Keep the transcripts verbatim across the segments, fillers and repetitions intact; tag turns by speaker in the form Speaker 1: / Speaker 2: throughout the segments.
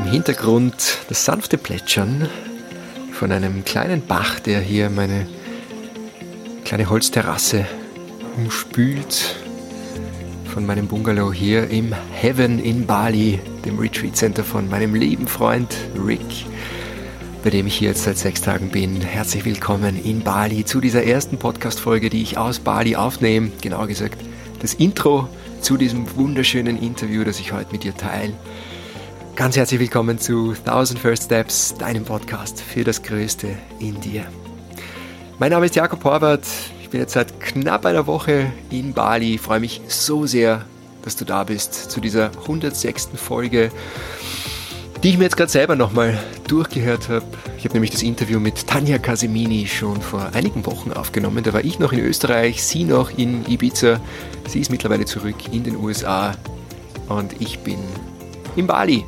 Speaker 1: Hintergrund das sanfte Plätschern von einem kleinen Bach, der hier meine kleine Holzterrasse umspült, von meinem Bungalow hier im Heaven in Bali, dem Retreat Center von meinem lieben Freund Rick, bei dem ich hier jetzt seit sechs Tagen bin. Herzlich willkommen in Bali zu dieser ersten Podcast-Folge, die ich aus Bali aufnehme. Genauer gesagt, das Intro zu diesem wunderschönen Interview, das ich heute mit dir teile. Ganz herzlich willkommen zu Thousand First Steps, deinem Podcast für das Größte in dir. Mein Name ist Jakob Horvath. Ich bin jetzt seit knapp einer Woche in Bali. Ich freue mich so sehr, dass du da bist zu dieser hundertsechsten Folge, die ich mir jetzt gerade selber nochmal durchgehört habe. Ich habe nämlich das Interview mit Tanja Casemini schon vor einigen Wochen aufgenommen. Da war ich noch in Österreich, sie noch in Ibiza. Sie ist mittlerweile zurück in den U S A und ich bin in Bali.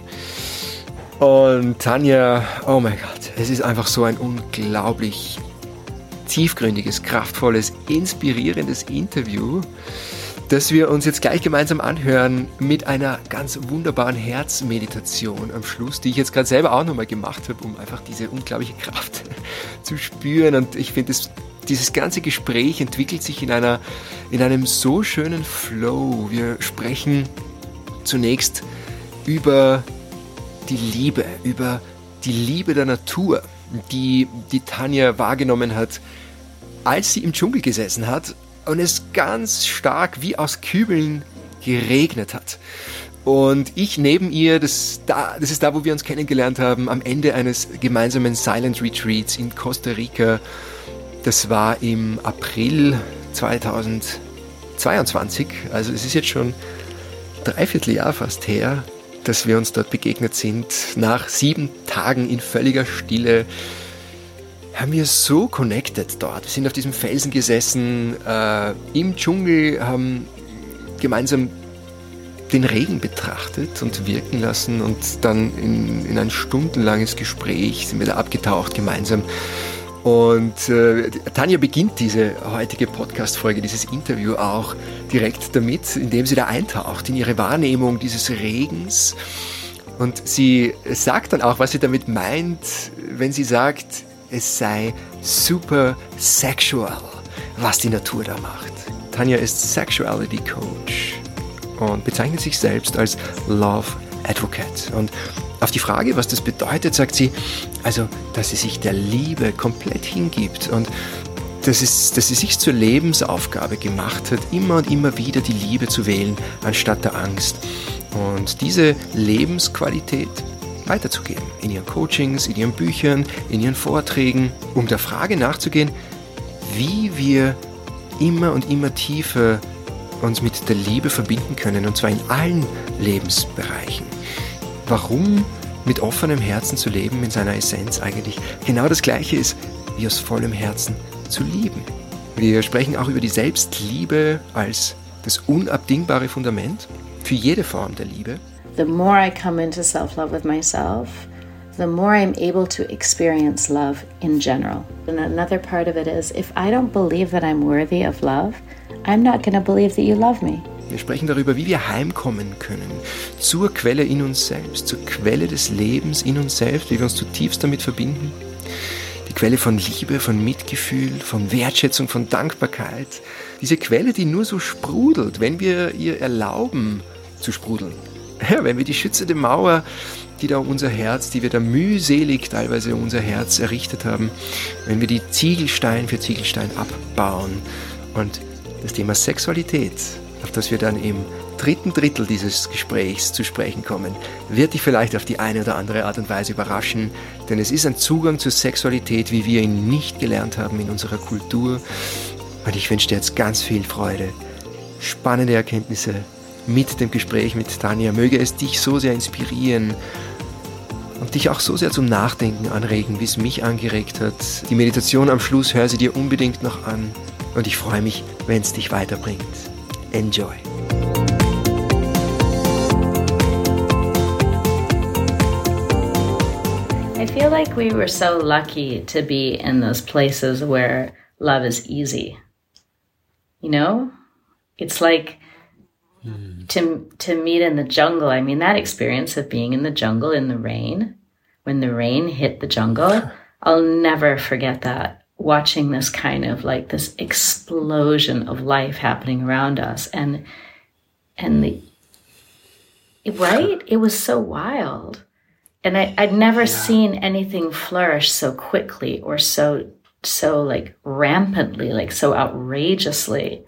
Speaker 1: Und Tanja, oh mein Gott, es ist einfach so ein unglaublich tiefgründiges, kraftvolles, inspirierendes Interview, das wir uns jetzt gleich gemeinsam anhören mit einer ganz wunderbaren Herzmeditation am Schluss, die ich jetzt gerade selber auch nochmal gemacht habe, um einfach diese unglaubliche Kraft zu spüren. Und ich finde, dieses ganze Gespräch entwickelt sich in einer, in einem so schönen Flow. Wir sprechen zunächst über die Liebe, über die Liebe der Natur, die, die Tanja wahrgenommen hat, als sie im Dschungel gesessen hat und es ganz stark wie aus Kübeln geregnet hat. Und ich neben ihr, das, da, das ist da, wo wir uns kennengelernt haben, am Ende eines gemeinsamen Silent Retreats in Costa Rica. Das war im April zweitausendzweiundzwanzig, also es ist jetzt schon dreiviertel Jahr fast her, dass wir uns dort begegnet sind. Nach sieben Tagen in völliger Stille haben wir so connected dort. Wir sind auf diesem Felsen gesessen, äh, im Dschungel, haben gemeinsam den Regen betrachtet und wirken lassen und dann in, in ein stundenlanges Gespräch sind wir da abgetaucht gemeinsam. Und äh, Tanja beginnt diese heutige Podcast-Folge, dieses Interview auch direkt damit, indem sie da eintaucht in ihre Wahrnehmung dieses Regens. Und sie sagt dann auch, was sie damit meint, wenn sie sagt, es sei super sexual, was die Natur da macht. Tanja ist Sexuality Coach und bezeichnet sich selbst als Love Advocate. Und auf die Frage, was das bedeutet, sagt sie, also, dass sie sich der Liebe komplett hingibt und dass, es, dass sie sich zur Lebensaufgabe gemacht hat, immer und immer wieder die Liebe zu wählen, anstatt der Angst. Und diese Lebensqualität weiterzugeben in ihren Coachings, in ihren Büchern, in ihren Vorträgen, um der Frage nachzugehen, wie wir immer und immer tiefer uns mit der Liebe verbinden können, und zwar in allen Lebensbereichen. Warum mit offenem Herzen zu leben in seiner Essenz eigentlich genau das Gleiche ist, wie aus vollem Herzen zu lieben. Wir sprechen auch über die Selbstliebe als das unabdingbare Fundament für jede Form der Liebe.
Speaker 2: The more I come into self-love with myself, the more I'm able to experience love in general. And another part of it is, if I don't believe that I'm worthy of love, I'm not going to believe that you love me.
Speaker 1: Wir sprechen darüber, wie wir heimkommen können zur Quelle in uns selbst, zur Quelle des Lebens in uns selbst, wie wir uns zutiefst damit verbinden. Die Quelle von Liebe, von Mitgefühl, von Wertschätzung, von Dankbarkeit. Diese Quelle, die nur so sprudelt, wenn wir ihr erlauben zu sprudeln. Ja, wenn wir die schützende Mauer, die da um unser Herz, die wir da mühselig teilweise um unser Herz errichtet haben, wenn wir die Ziegelstein für Ziegelstein abbauen. Und das Thema Sexualität, auf das wir dann im dritten Drittel dieses Gesprächs zu sprechen kommen, wird dich vielleicht auf die eine oder andere Art und Weise überraschen, denn es ist ein Zugang zur Sexualität, wie wir ihn nicht gelernt haben in unserer Kultur. Und ich wünsche dir jetzt ganz viel Freude, spannende Erkenntnisse mit dem Gespräch mit Tanja. Möge es dich so sehr inspirieren und dich auch so sehr zum Nachdenken anregen, wie es mich angeregt hat. Die Meditation am Schluss, hör sie dir unbedingt noch an und ich freue mich, wenn es dich weiterbringt. Enjoy.
Speaker 2: I feel like we were so lucky to be in those places where love is easy. You know? It's like mm. to to meet in the jungle. I mean, that experience of being in the jungle in the rain, when the rain hit the jungle, I'll never forget that. Watching this kind of like this explosion of life happening around us, and and the right, it was so wild, and I, I'd never yeah. seen anything flourish so quickly or so so like rampantly, like so outrageously.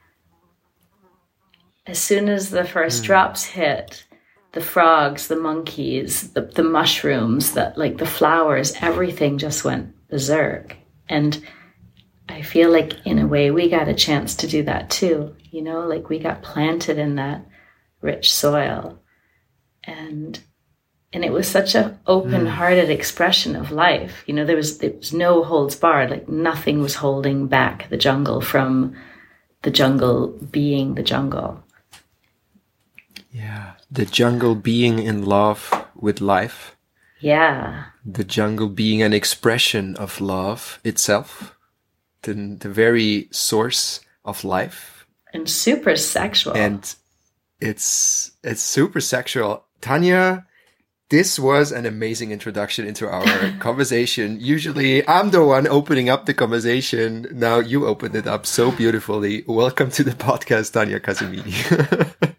Speaker 2: As soon as the first mm. drops hit, the frogs, the monkeys, the, the mushrooms, the, like the flowers, everything just went berserk. And I feel like in a way we got a chance to do that too. You know, like we got planted in that rich soil. And and it was such an open-hearted mm. expression of life. You know, there was, there was no holds barred. Like nothing was holding back the jungle from the jungle being the jungle.
Speaker 1: Yeah, the jungle being in love with life.
Speaker 2: Yeah.
Speaker 1: The jungle being an expression of love itself. The, the very source of life.
Speaker 2: And super sexual.
Speaker 1: And it's it's super sexual. Tanya, this was an amazing introduction into our conversation. Usually I'm the one opening up the conversation. Now you opened it up so beautifully. Welcome to the podcast, Tanya Casemini.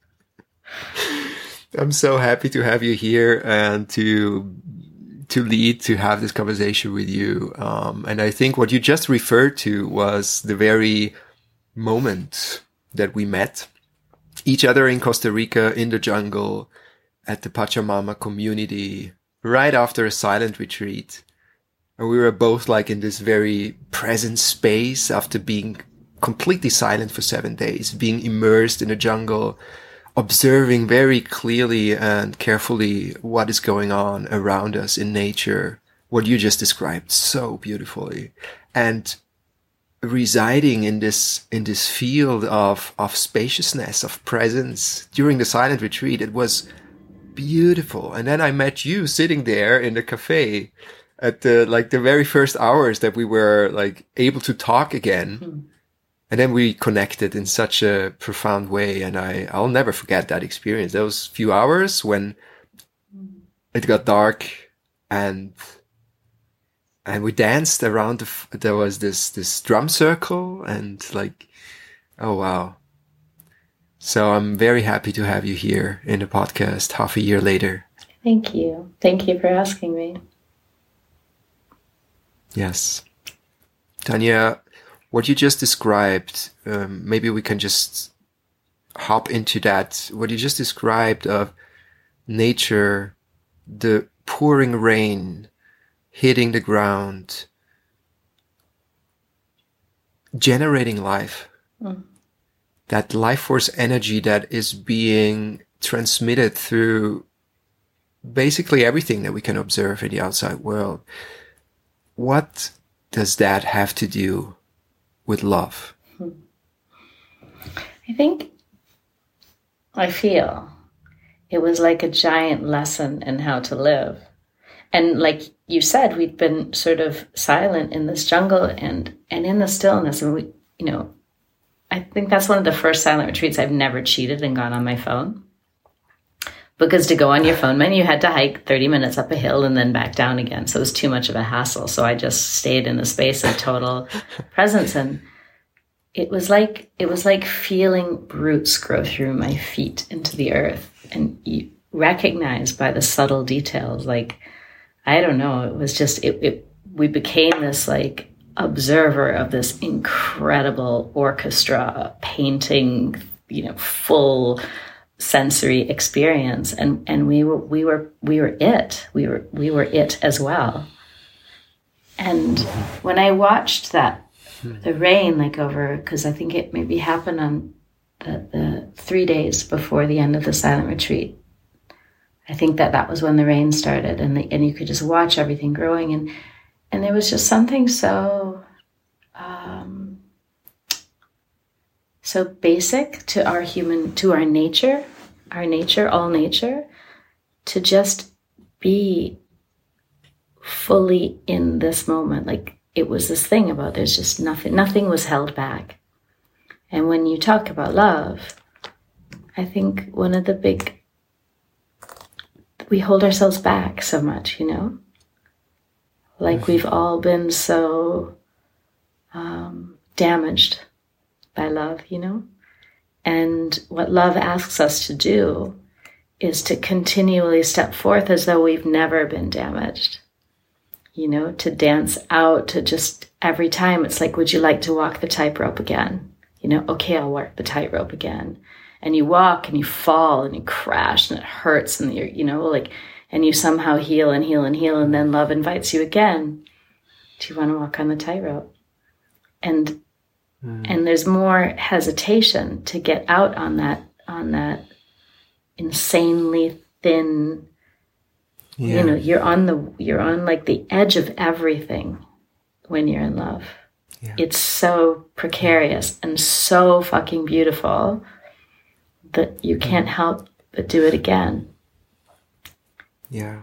Speaker 1: I'm so happy to have you here and to to lead, to have this conversation with you. Um, and I think what you just referred to was the very moment that we met each other in Costa Rica, in the jungle, at the Pachamama community, right after a silent retreat. And we were both like in this very present space after being completely silent for seven days, being immersed in the jungle, observing very clearly and carefully what is going on around us in nature, what you just described so beautifully, and residing in this in this field of of spaciousness, of presence during the silent retreat. It was beautiful. And then I met you sitting there in the cafe at the like the very first hours that we were like able to talk again. Mm-hmm. And then we connected in such a profound way. And I, I'll never forget that experience. Those few hours when it got dark and, and we danced around the, f- there was this, this drum circle and like, oh, wow. So I'm very happy to have you here in the podcast half a year later.
Speaker 2: Thank you. Thank you for asking me.
Speaker 1: Yes. Tanya, what you just described, um, maybe we can just hop into that. What you just described of nature, the pouring rain hitting the ground, generating life, mm. that life force energy that is being transmitted through basically everything that we can observe in the outside world. What does that have to do with love?
Speaker 2: I think, I feel it was like a giant lesson in how to live. And like you said, we'd been sort of silent in this jungle and, and in the stillness. And we, you know, I think that's one of the first silent retreats I've never cheated and gone on my phone. Because to go on your phone, man, you had to hike thirty minutes up a hill and then back down again. So it was too much of a hassle. So I just stayed in a space of total presence. And it was like, it was like feeling roots grow through my feet into the earth. And you recognize by the subtle details, like, I don't know, it was just, it, it we became this like observer of this incredible orchestra painting, you know, full sensory experience, and and we were we were we were it we were we were it as well. And when I watched that, the rain, like over, because I think it maybe happened on the, the three days before the end of the silent retreat, I think that that was when the rain started, and the, and you could just watch everything growing, and and there was just something so um so basic to our human, to our nature, our nature, all nature, to just be fully in this moment. Like it was this thing about there's just nothing, nothing was held back. And when you talk about love, I think one of the big, we hold ourselves back so much, you know? Like mm-hmm. we've all been so um, damaged by love, you know? And what love asks us to do is to continually step forth as though we've never been damaged. You know, to dance out, to just every time it's like, would you like to walk the tightrope again? You know, okay, I'll walk the tightrope again. And you walk and you fall and you crash and it hurts and you're, you know, like, and you somehow heal and heal and heal. And then love invites you again. Do you want to walk on the tightrope? And, mm. and there's more hesitation to get out on that, on that insanely thin, yeah. you know, you're on the, you're on like the edge of everything when you're in love. Yeah. It's so precarious and so fucking beautiful that you can't help but do it again.
Speaker 1: Yeah.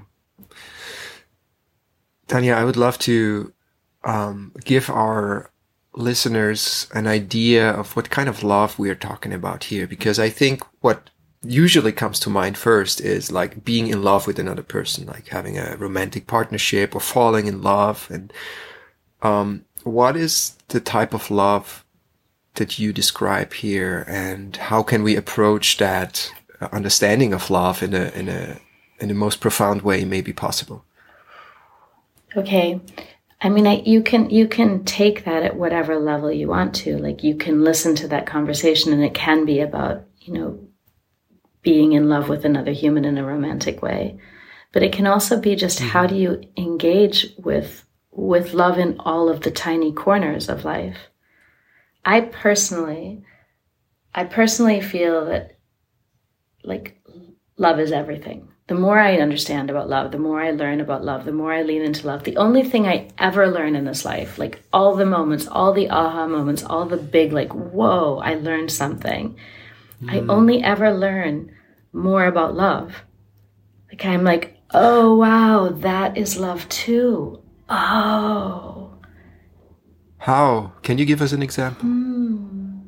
Speaker 1: Tanya, I would love to um, give our listeners an idea of what kind of love we are talking about here, because I think what usually comes to mind first is like being in love with another person, like having a romantic partnership or falling in love. And um, what is the type of love that you describe here, and how can we approach that understanding of love in a in a in the most profound way maybe possible?
Speaker 2: Okay. I mean, I, you can you can take that at whatever level you want to. Like, you can listen to that conversation and it can be about, you know, being in love with another human in a romantic way. But it can also be just mm-hmm. how do you engage with with love in all of the tiny corners of life. I personally, I personally feel that, like, love is everything. The more I understand about love, the more I learn about love, the more I lean into love. The only thing I ever learn in this life, like all the moments, all the aha moments, all the big, like, whoa, I learned something. Mm. I only ever learn more about love. Like, I'm like, oh, wow, that is love too. Oh.
Speaker 1: How? Can you give us an example?
Speaker 2: Hmm.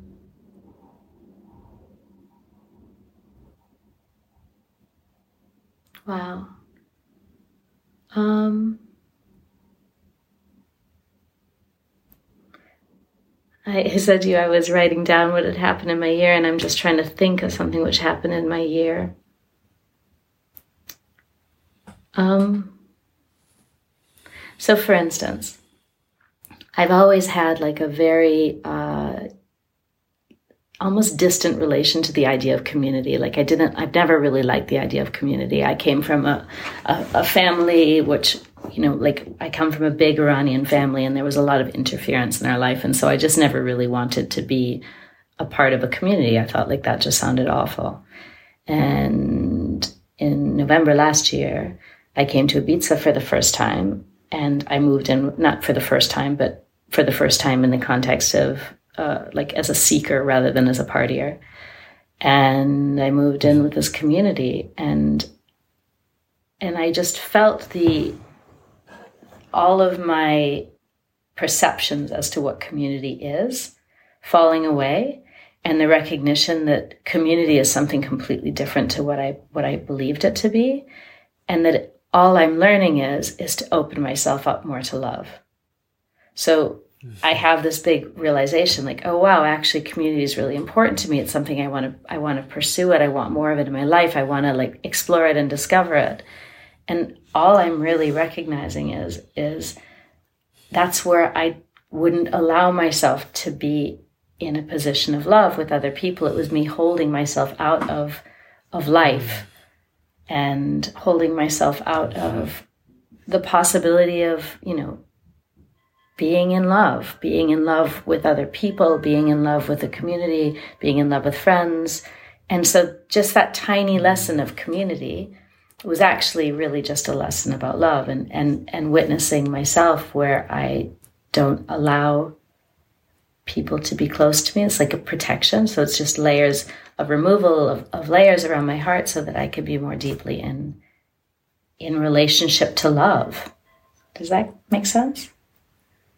Speaker 2: Wow. Um, I said to you I was writing down what had happened in my year, and I'm just trying to think of something which happened in my year. Um. So, for instance, I've always had like a very uh, almost distant relation to the idea of community. Like I didn't, I've never really liked the idea of community. I came from a, a, a family which, you know, like I come from a big Iranian family, and there was a lot of interference in our life. And so I just never really wanted to be a part of a community. I thought like that just sounded awful. And in November last year, I came to Ibiza for the first time, and I moved in, not for the first time, but for the first time in the context of uh, like as a seeker rather than as a partier. And I moved in with this community, and and I just felt the all of my perceptions as to what community is falling away, and the recognition that community is something completely different to what I what I believed it to be, and that all I'm learning is is to open myself up more to love. So I have this big realization, like, oh wow, actually community is really important to me. It's something I want to I want to pursue it. I want more of it in my life. I want to like explore it and discover it. And all I'm really recognizing is is that's where I wouldn't allow myself to be in a position of love with other people. It was me holding myself out of of life and holding myself out of the possibility of, you know, being in love, being in love with other people, being in love with the community, being in love with friends. And so just that tiny lesson of community was actually really just a lesson about love and, and, and witnessing myself where I don't allow people to be close to me. It's like a protection. So it's just layers of removal of, of layers around my heart so that I could be more deeply in, in relationship to love. Does that make sense?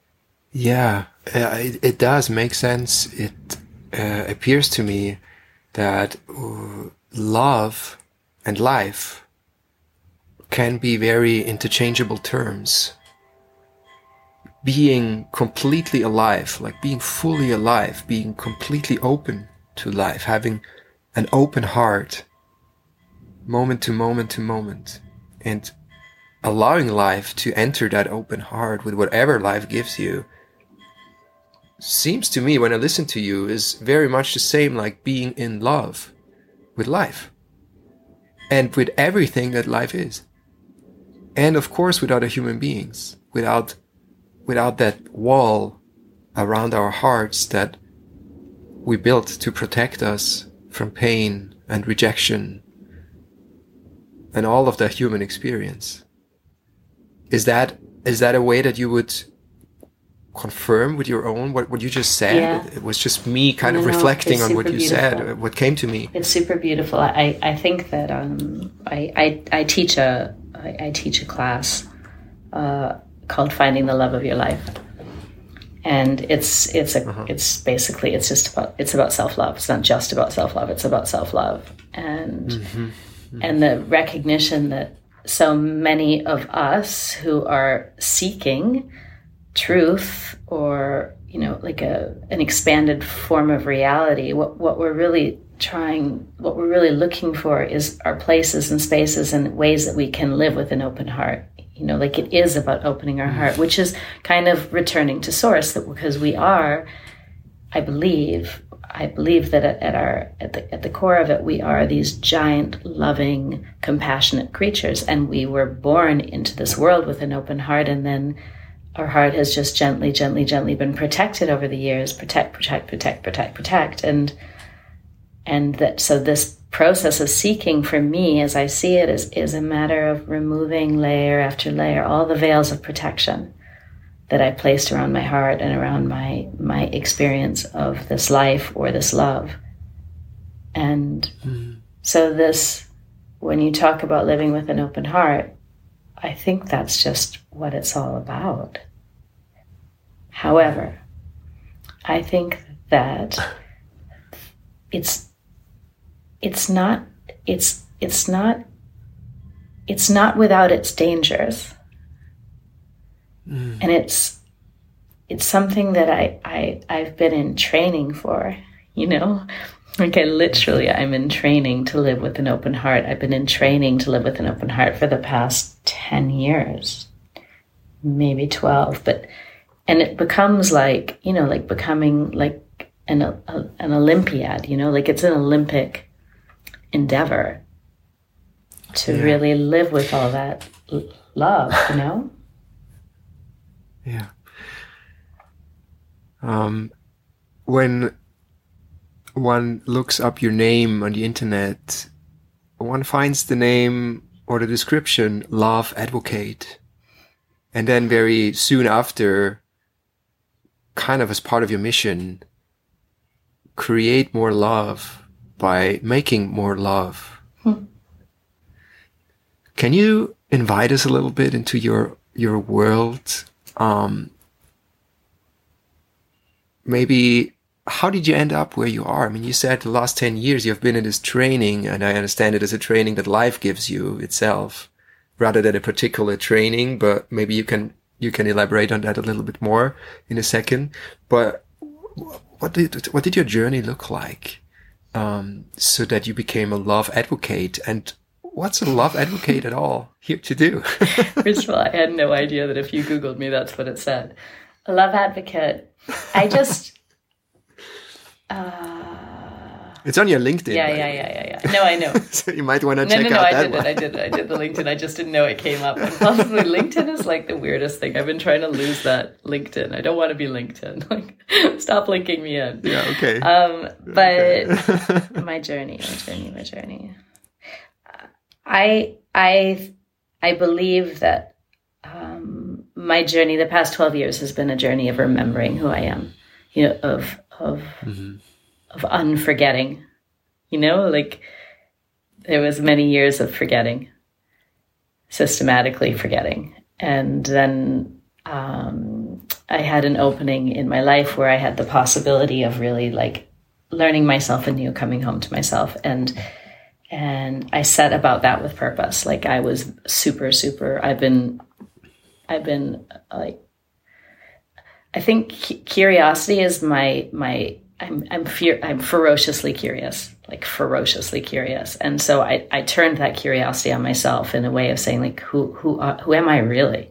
Speaker 1: Yeah, uh, it, it does make sense. It uh, appears to me that uh, love and life can be very interchangeable terms. Being completely alive, like being fully alive, being completely open to life, having an open heart, moment to moment to moment, and allowing life to enter that open heart with whatever life gives you, seems to me, when I listen to you, is very much the same like being in love with life and with everything that life is. And of course with other human beings, without without that wall around our hearts that we built to protect us from pain and rejection and all of the human experience. Is that is that a way that you would confirm with your own what, what you just said?
Speaker 2: Yeah.
Speaker 1: It was just me kind
Speaker 2: no,
Speaker 1: of
Speaker 2: no,
Speaker 1: reflecting on what you
Speaker 2: beautiful.
Speaker 1: said, what came to me.
Speaker 2: It's super beautiful. I, I think that um, I, I I teach a I, I teach a class uh, called Finding the Love of Your Life, and it's it's a uh-huh. it's basically it's just about it's about self-love. It's not just about self-love. It's about self-love and mm-hmm. Mm-hmm. and the recognition that so many of us who are seeking truth or, you know, like a an expanded form of reality, what what we're really trying, what we're really looking for is our places and spaces and ways that we can live with an open heart. You know, like it is about opening our heart, which is kind of returning to source, that because we are, I believe, I believe that at, at our at the at the core of it, we are these giant, loving, compassionate creatures, and we were born into this world with an open heart, and then our heart has just gently, gently, gently been protected over the years. Protect, protect, protect, protect, protect. And and that so this process of seeking, for me, as I see it, is, is a matter of removing layer after layer, all the veils of protection that I placed around my heart and around my my experience of this life or this love. And mm. so this, when you talk about living with an open heart, I think that's just what it's all about. However, I think that it's it's not it's it's not it's not without its dangers. Mm. And it's it's something that I, I I've been in training for, you know? Like I literally, I'm in training to live with an open heart. I've been in training to live with an open heart for the past ten years, maybe twelve. But, and it becomes like, you know, like becoming like an, a, an Olympiad, you know, like it's an Olympic endeavor to yeah. really live with all that l- love, you know?
Speaker 1: Yeah. Um, when one looks up your name on the internet, one finds the name or the description, Love Advocate. And then very soon after, kind of as part of your mission, create more love by making more love. Hmm. Can you invite us a little bit into your, your world? Um, maybe how did you end up where you are? I mean, you said the last ten years you've been in this training, and I understand it as a training that life gives you itself rather than a particular training, but maybe you can, you can elaborate on that a little bit more in a second. But what did, what did your journey look like, um, so that you became a love advocate? And what's a love advocate at all here to do?
Speaker 2: First of all, I had no idea that if you Googled me, that's what it said. A love advocate. I just... Uh,
Speaker 1: it's on your LinkedIn.
Speaker 2: Yeah, yeah, yeah, yeah, yeah. No, I know.
Speaker 1: So you might want to
Speaker 2: no,
Speaker 1: check
Speaker 2: no, no,
Speaker 1: out
Speaker 2: I
Speaker 1: that
Speaker 2: did
Speaker 1: one.
Speaker 2: it. I did it. I did the LinkedIn. I just didn't know it came up. And possibly LinkedIn is like the weirdest thing. I've been trying to lose that LinkedIn. I don't want to be LinkedIn. Like, stop linking me in.
Speaker 1: Yeah, okay.
Speaker 2: Um, but
Speaker 1: okay.
Speaker 2: my journey, my journey, my journey. I, I, I believe that um, my journey, the past twelve years, has been a journey of remembering who I am. You know, of of mm-hmm. of unforgetting. You know, like there was many years of forgetting, systematically forgetting. And then um, I had an opening in my life where I had the possibility of really like learning myself anew, coming home to myself. And and I set about that with purpose. Like I was super, super, I've been, I've been like, I think curiosity is my, my, I'm, I'm fear, I'm ferociously curious, like ferociously curious. And so I, I turned that curiosity on myself in a way of saying like, who, who, uh, who am I really?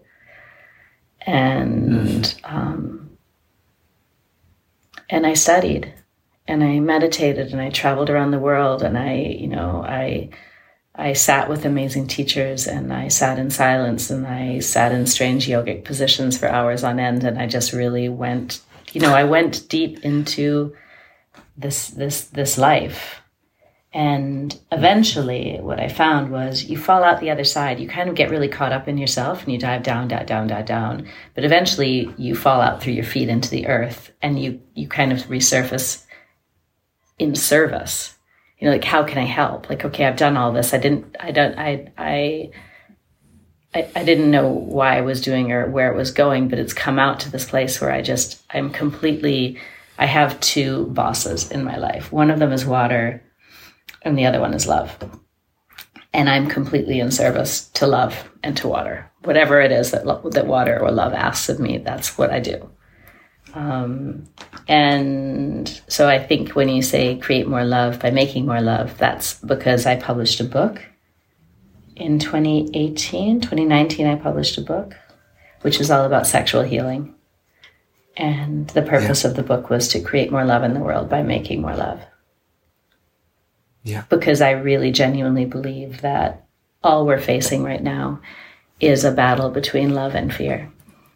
Speaker 2: And, mm. um, and I studied and I meditated and I traveled around the world and I, you know, I, I sat with amazing teachers and I sat in silence and I sat in strange yogic positions for hours on end. And I just really went, you know, I went deep into this, this, this life. And eventually what I found was you fall out the other side. You kind of get really caught up in yourself and you dive down, dive down, dive down. But eventually you fall out through your feet into the earth and you, you kind of resurface in service. You know, like, how can I help? Like, okay, I've done all this. I didn't, I don't, I, I, I, I didn't know why I was doing or where it was going, but it's come out to this place where I just, I'm completely, I have two bosses in my life. One of them is water and the other one is love. And I'm completely in service to love and to water. Whatever it is that, that water or love asks of me, that's what I do. Um, and so I think when you say create more love by making more love, that's because I published a book in twenty eighteen, twenty nineteen, I published a book, which is all about sexual healing. And the purpose yeah. of the book was to create more love in the world by making more love.
Speaker 1: Yeah.
Speaker 2: Because I really genuinely believe that all we're facing right now is a battle between love and fear.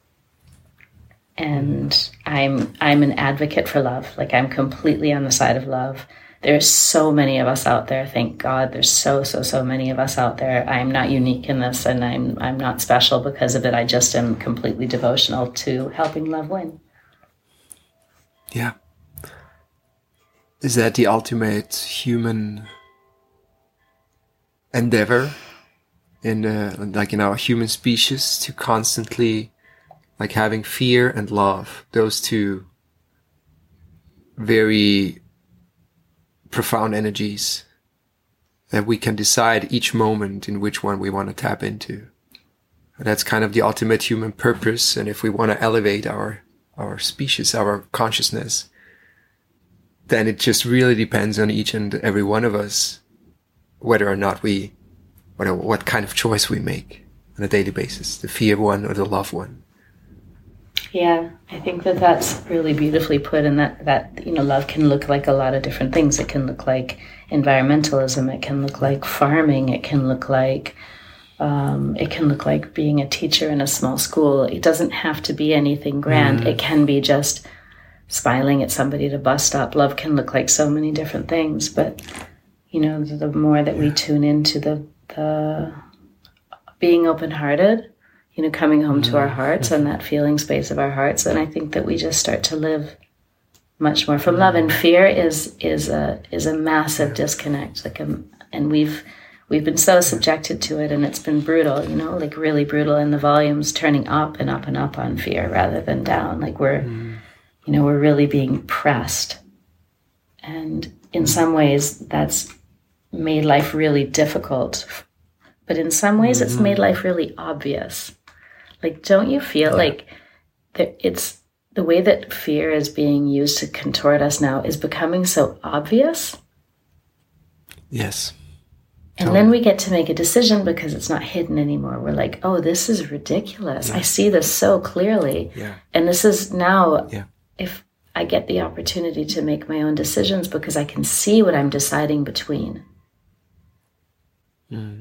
Speaker 2: And I'm I'm an advocate for love. Like, I'm completely on the side of love. There's so many of us out there. Thank God there's so, so, so many of us out there. I'm not unique in this, and I'm I'm not special because of it. I just am completely devotional to helping love win.
Speaker 1: Yeah. Is that the ultimate human endeavor in the, like in our human species, to constantly, like, having fear and love, those two very profound energies that we can decide each moment in which one we want to tap into. That's kind of the ultimate human purpose. And if we want to elevate our, our species, our consciousness, then it just really depends on each and every one of us, whether or not we, what, what kind of choice we make on a daily basis, the fear one or the love one.
Speaker 2: Yeah, I think that that's really beautifully put, and that, that, you know, love can look like a lot of different things. It can look like environmentalism. It can look like farming. It can look like, um, it can look like being a teacher in a small school. It doesn't have to be anything grand. Mm. It can be just smiling at somebody at a bus stop. Love can look like so many different things, but, you know, the more that we tune into the, the being open-hearted, you know, coming home to our hearts and that feeling space of our hearts, and I think that we just start to live much more from love. And fear is is a is a massive disconnect. Like, a, and we've we've been so subjected to it, and it's been brutal. You know, like really brutal. And the volume's turning up and up and up on fear rather than down. Like we're, mm. you know, we're really being pressed, and in some ways that's made life really difficult. But in some ways, mm-hmm. it's made life really obvious. Like, don't you feel yeah. like that it's the way that fear is being used to contort us now is becoming so obvious?
Speaker 1: Yes.
Speaker 2: And totally. Then we get to make a decision because it's not hidden anymore. We're like, oh, this is ridiculous. Yeah. I see this so clearly.
Speaker 1: Yeah.
Speaker 2: And this is now,
Speaker 1: yeah.
Speaker 2: if I get the opportunity to make my own decisions because I can see what I'm deciding between.
Speaker 1: Mm.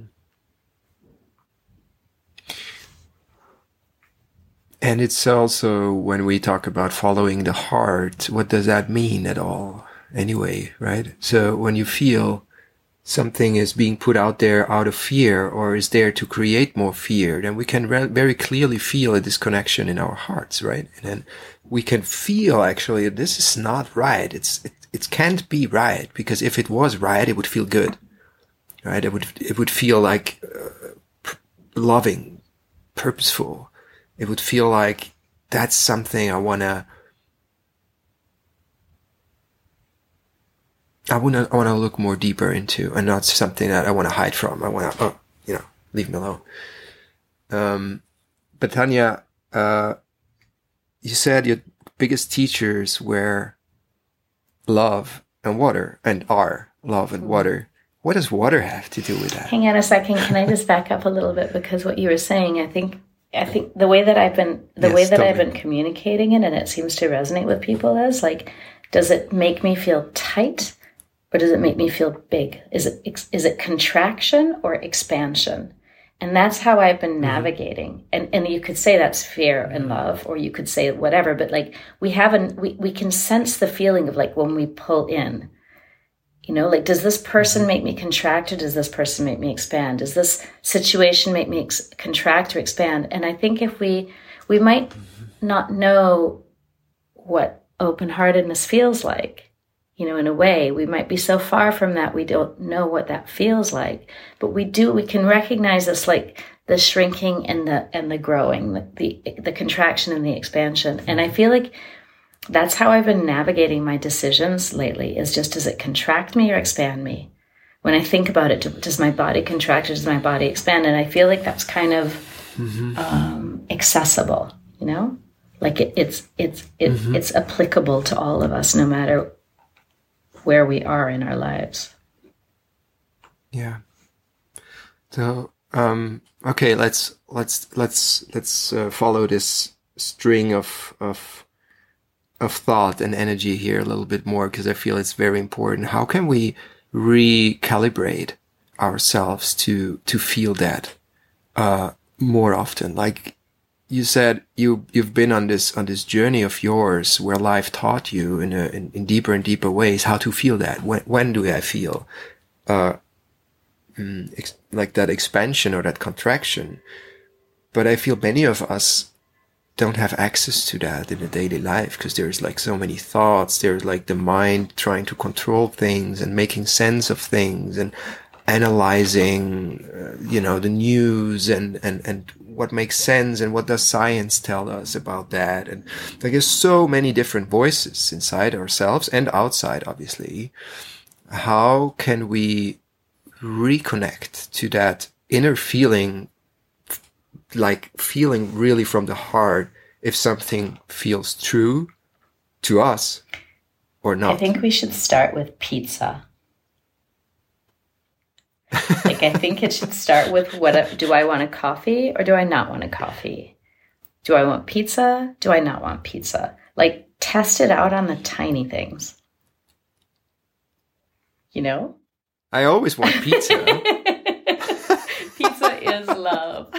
Speaker 1: And it's also, when we talk about following the heart, what does that mean at all anyway, right? So when you feel something is being put out there out of fear or is there to create more fear, then we can re- very clearly feel a disconnection in our hearts, right? And then we can feel actually this is not right. It's it, it can't be right, because if it was right, it would feel good, right? It would it would feel like uh, p- loving, purposeful. It would feel like that's something I want to I want to I want to look more deeper into, and not something that I want to hide from. I want to, oh, you know, leave me alone. Um, but Tanya, uh, you said your biggest teachers were love and water, and are love and water. What does water have to do with that?
Speaker 2: Hang on a second. Can I just back up a little bit? Because what you were saying, I think, I think the way that I've been, the yes, way that totally. I've been communicating it, and it seems to resonate with people, is like, does it make me feel tight, or does it make me feel big? Is it is it contraction or expansion? And that's how I've been navigating. Mm-hmm. And and you could say that's fear and love, or you could say whatever. But like we haven't, we we can sense the feeling of like when we pull in. You know, like, does this person make me contract, or does this person make me expand? Does this situation make me ex- contract or expand? And I think if we, we might not know what open-heartedness feels like, you know, in a way, we might be so far from that, we don't know what that feels like. But we do, we can recognize this, like the shrinking and the, and the growing, the, the, the contraction and the expansion. And I feel like that's how I've been navigating my decisions lately, is just, does it contract me or expand me? When I think about it, does my body contract or does my body expand? And I feel like that's kind of mm-hmm. um, accessible, you know? Like it, it's it's it, mm-hmm. it's applicable to all of us, no matter where we are in our lives.
Speaker 1: Yeah. So, um, okay, let's, let's, let's, let's uh, follow this string of, of, of thought and energy here a little bit more, because I feel it's very important. How can we recalibrate ourselves to to feel that uh more often? Like you said, you you've been on this on this journey of yours where life taught you in a in, in deeper and deeper ways how to feel that. When when do I feel uh mm, ex- like that expansion or that contraction? But I feel many of us don't have access to that in a daily life, because there's like so many thoughts. There's like the mind trying to control things and making sense of things and analyzing, uh, you know, the news and, and, and what makes sense and what does science tell us about that. And like there's so many different voices inside ourselves and outside, obviously. How can we reconnect to that inner feeling, like feeling really from the heart, if something feels true to us or not?
Speaker 2: I think we should start with pizza. Like, I think it should start with, what do I want a coffee or do I not want a coffee? Do I want pizza? Do I not want pizza? Like, test it out on the tiny things. You know?
Speaker 1: I always want pizza.
Speaker 2: Pizza is love.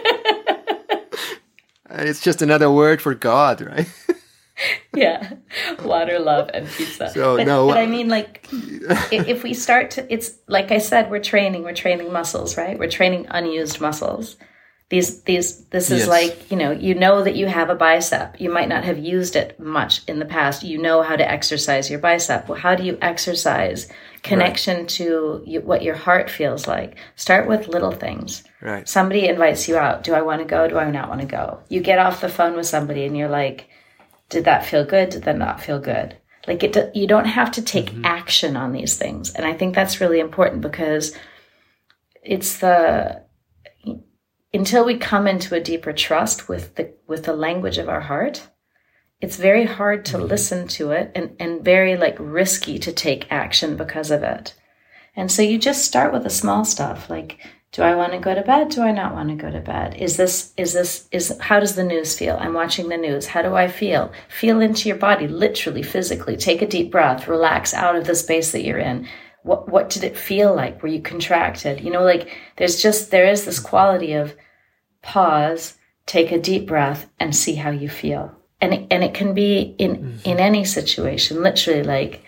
Speaker 1: It's just another word for God, right?
Speaker 2: Yeah, water, love, and pizza.
Speaker 1: So
Speaker 2: but,
Speaker 1: no,
Speaker 2: but I mean, like, if we start to, it's like I said, we're training, we're training muscles, right? We're training unused muscles. These, these, this is yes. like, you know, you know that you have a bicep. You might not have used it much in the past. You know how to exercise your bicep. Well, how do you exercise connection right. to you, what your heart feels like? Start with little things.
Speaker 1: Right.
Speaker 2: Somebody invites you out. Do I want to go? Do I not want to go? You get off the phone with somebody and you're like, did that feel good? Did that not feel good? Like, it, you don't have to take mm-hmm. action on these things. And I think that's really important, because it's the, until we come into a deeper trust with the, with the language of our heart, it's very hard to mm-hmm. listen to it, and, and very like risky to take action because of it. And so you just start with the small stuff. Like, do I want to go to bed? Do I not want to go to bed? Is this, is this, is, how does the news feel? I'm watching the news. How do I feel? Feel into your body, literally, physically. Take a deep breath, relax out of the space that you're in. What, what did it feel like? Were you contracted? You know, like there's just, there is this quality of pause, take a deep breath, and see how you feel. And it, and it can be in, mm-hmm. in any situation, literally, like,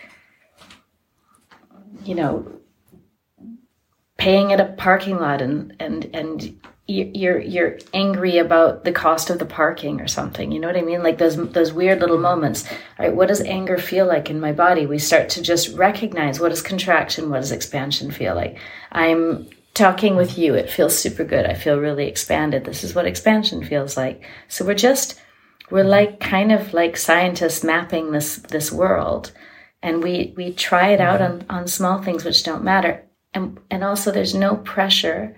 Speaker 2: you know, paying at a parking lot and, and, and you're, you're angry about the cost of the parking or something. You know what I mean? Like those, those weird little moments. All right. What does anger feel like in my body? We start to just recognize, what is contraction? What does expansion feel like? I'm talking with you. It feels super good. I feel really expanded. This is what expansion feels like. So we're just, we're like kind of like scientists mapping this, this world And we, we try it out on, on small things which don't matter. And, and also there's no pressure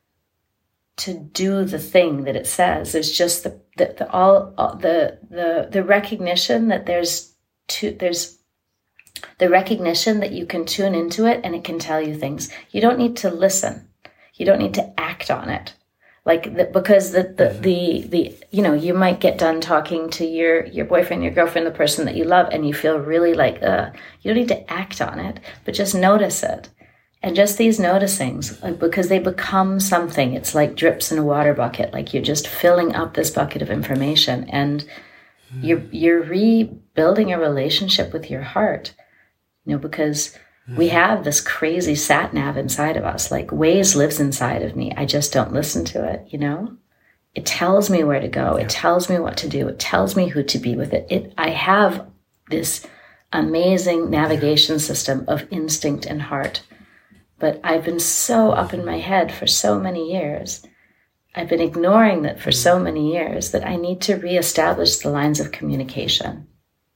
Speaker 2: to do the thing that it says. There's just the, the, the all, all the, the, the recognition that there's two, there's the recognition that you can tune into it and it can tell you things. You don't need to listen. You don't need to act on it. Like, the, because the, the, the, the, you know, you might get done talking to your, your boyfriend, your girlfriend, the person that you love, and you feel really like, uh, you don't need to act on it, but just notice it. And just these noticings, like, because they become something. It's like drips in a water bucket. Like, you're just filling up this bucket of information, and mm. you're, you're rebuilding a relationship with your heart, you know, because we have this crazy sat nav inside of us. Like, Waze lives inside of me. I just don't listen to it, you know? It tells me where to go. It tells me what to do. It tells me who to be with it. It I have this amazing navigation system of instinct and heart. But I've been so up in my head for so many years. I've been ignoring that for so many years that I need to reestablish the lines of communication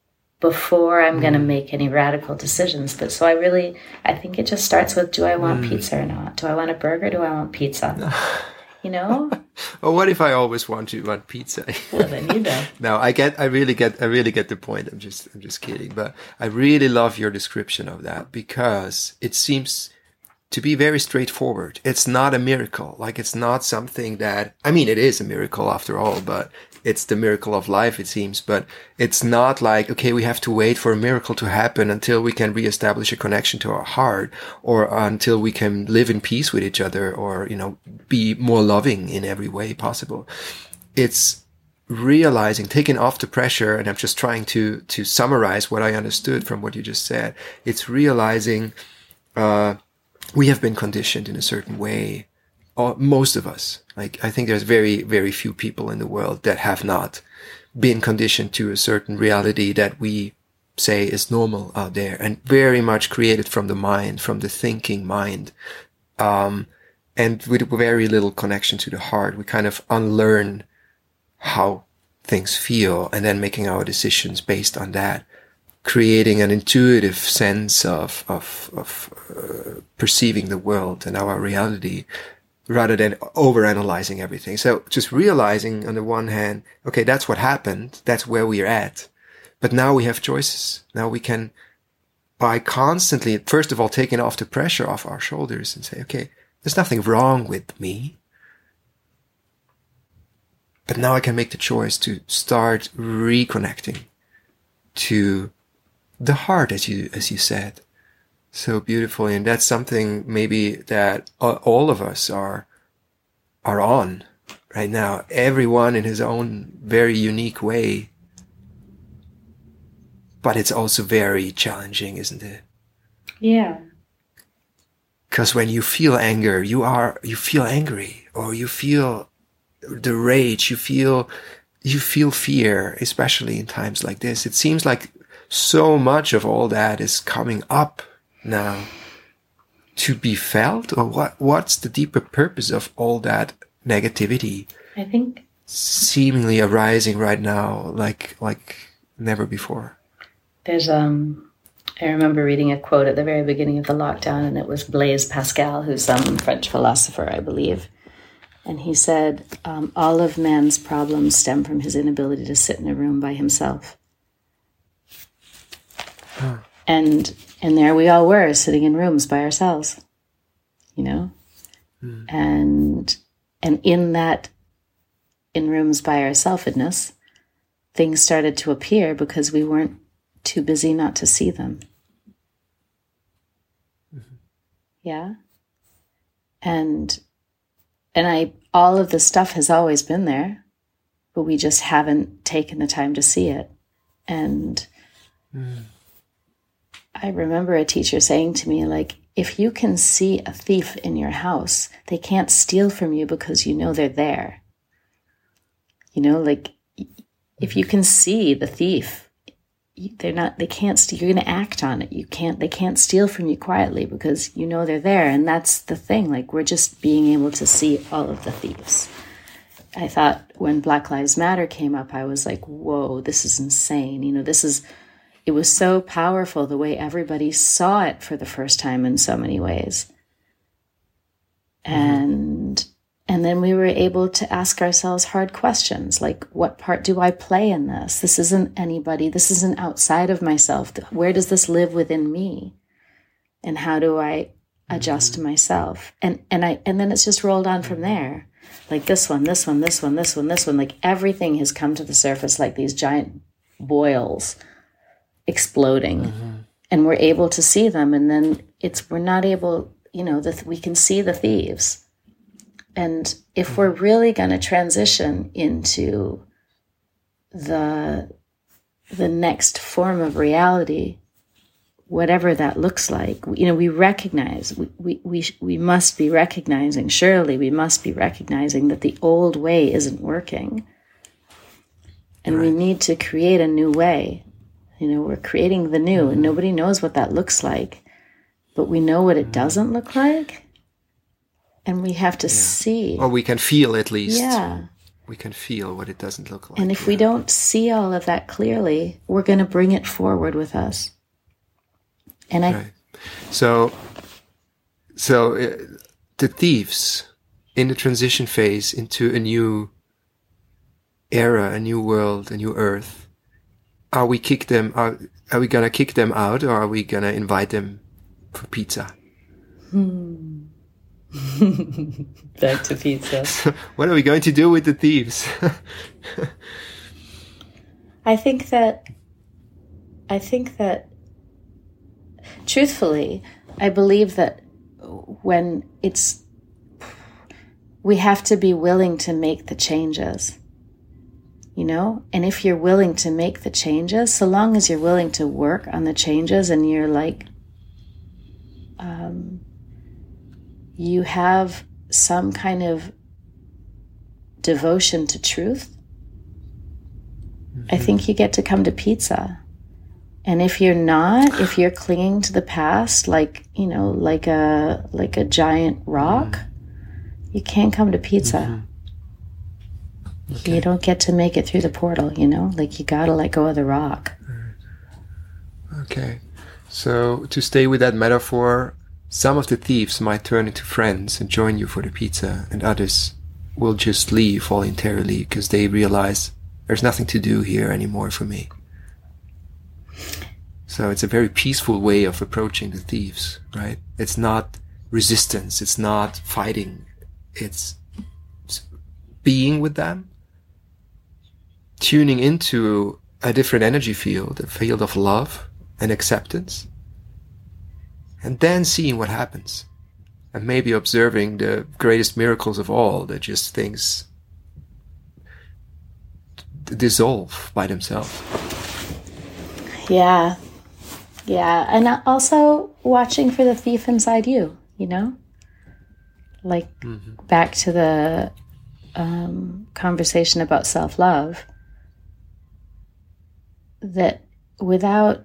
Speaker 2: before I'm mm. going to make any radical decisions. But so I really, I think it just starts with, do I want mm. pizza or not? Do I want a burger? Do I want pizza? You know?
Speaker 1: Well, what if I always want to want pizza?
Speaker 2: Well, then you know.
Speaker 1: No, I get, I really get, I really get the point. I'm just, I'm just kidding. But I really love your description of that, because it seems to be very straightforward. It's not a miracle. Like, it's not something that, I mean, it is a miracle after all, but it's the miracle of life, it seems. But it's not like, okay, we have to wait for a miracle to happen until we can reestablish a connection to our heart, or until we can live in peace with each other, or, you know, be more loving in every way possible. It's realizing, taking off the pressure, and I'm just trying to, to summarize what I understood from what you just said. It's realizing, uh, we have been conditioned in a certain way. Or most of us. Like, I think there's very, very few people in the world that have not been conditioned to a certain reality that we say is normal out there, and very much created from the mind, from the thinking mind. Um, and with very little connection to the heart. We kind of unlearn how things feel, and then making our decisions based on that, creating an intuitive sense of, of, of uh, perceiving the world and our reality, rather than overanalyzing everything. So just realizing, on the one hand, okay, that's what happened. That's where we're at. But now we have choices. Now we can, by constantly, first of all, taking off the pressure off our shoulders and say, okay, there's nothing wrong with me. But now I can make the choice to start reconnecting to the heart, as you, as you said. So beautifully. And that's something maybe that all of us are, are on right now. Everyone in his own very unique way. But it's also very challenging, isn't it?
Speaker 2: Yeah.
Speaker 1: Because when you feel anger, you are, you feel angry, or you feel the rage, you feel, you feel fear, especially in times like this. It seems like so much of all that is coming up now to be felt, or what? What's the deeper purpose of all that negativity?
Speaker 2: I think
Speaker 1: seemingly arising right now, like like never before.
Speaker 2: There's um, I remember reading a quote at the very beginning of the lockdown, and it was Blaise Pascal, who's some French philosopher, I believe, and he said, um, "All of man's problems stem from his inability to sit in a room by himself." Huh. And And there we all were, sitting in rooms by ourselves, you know? Mm. And and in that, in rooms by ourselfedness, things started to appear because we weren't too busy not to see them. Mm-hmm. Yeah? And and I all of the stuff has always been there, but we just haven't taken the time to see it. And mm. I remember a teacher saying to me, like, if you can see a thief in your house, they can't steal from you because you know they're there. You know, like, if you can see the thief, they're not, they can't steal, you're going to act on it. You can't, they can't steal from you quietly because you know they're there. And that's the thing, like, we're just being able to see all of the thieves. I thought when Black Lives Matter came up, I was like, whoa, this is insane. You know, this is, it was so powerful the way everybody saw it for the first time in so many ways. And mm-hmm. and then we were able to ask ourselves hard questions, like, what part do I play in this? This isn't anybody. This isn't outside of myself. Where does this live within me? And how do I adjust mm-hmm. to myself? And and I and then it's just rolled on from there. Like this one, this one, this one, this one, this one. Like everything has come to the surface like these giant boils exploding. Mm-hmm. And we're able to see them. And then it's we're not able, you know, that we can see the thieves. And if we're really going to transition into the the next form of reality, whatever that looks like, you know, we recognize, we, we, we, we must be recognizing, surely we must be recognizing that the old way isn't working. And right. we need to create a new way. You know, we're creating the new, mm-hmm. and nobody knows what that looks like, but we know what it mm-hmm. doesn't look like. And we have to yeah. see.
Speaker 1: Or we can feel at least.
Speaker 2: Yeah.
Speaker 1: We can feel what it doesn't look like.
Speaker 2: And if
Speaker 1: yeah.
Speaker 2: we don't see all of that clearly, we're going to bring it forward with us. And I,
Speaker 1: right. So, so uh, the thieves in the transition phase into a new era, a new world, a new earth, are we kick them? Are are we gonna kick them out, or are we gonna invite them for pizza?
Speaker 2: Hmm. Back to pizza.
Speaker 1: So what are we going to do with the thieves?
Speaker 2: I think that. I think that. Truthfully, I believe that when it's, we have to be willing to make the changes, you know? And if you're willing to make the changes, so long as you're willing to work on the changes and you're like, um, you have some kind of devotion to truth, mm-hmm. I think you get to come to pizza. And if you're not, if you're clinging to the past, like, you know, like a like a giant rock, mm-hmm. you can't come to pizza. Mm-hmm. Okay. You don't get to make it through the portal, you know? Like, you gotta let go of the rock.
Speaker 1: Okay. So, to stay with that metaphor, some of the thieves might turn into friends and join you for the pizza, and others will just leave voluntarily because they realize there's nothing to do here anymore for me. So it's a very peaceful way of approaching the thieves, right? It's not resistance. It's not fighting. It's being with them, tuning into a different energy field, a field of love and acceptance, and then seeing what happens. And maybe observing the greatest miracles of all, that just things dissolve by themselves.
Speaker 2: Yeah. Yeah. And also watching for the thief inside you, you know? Like, mm-hmm. back to the um, conversation about self-love, that without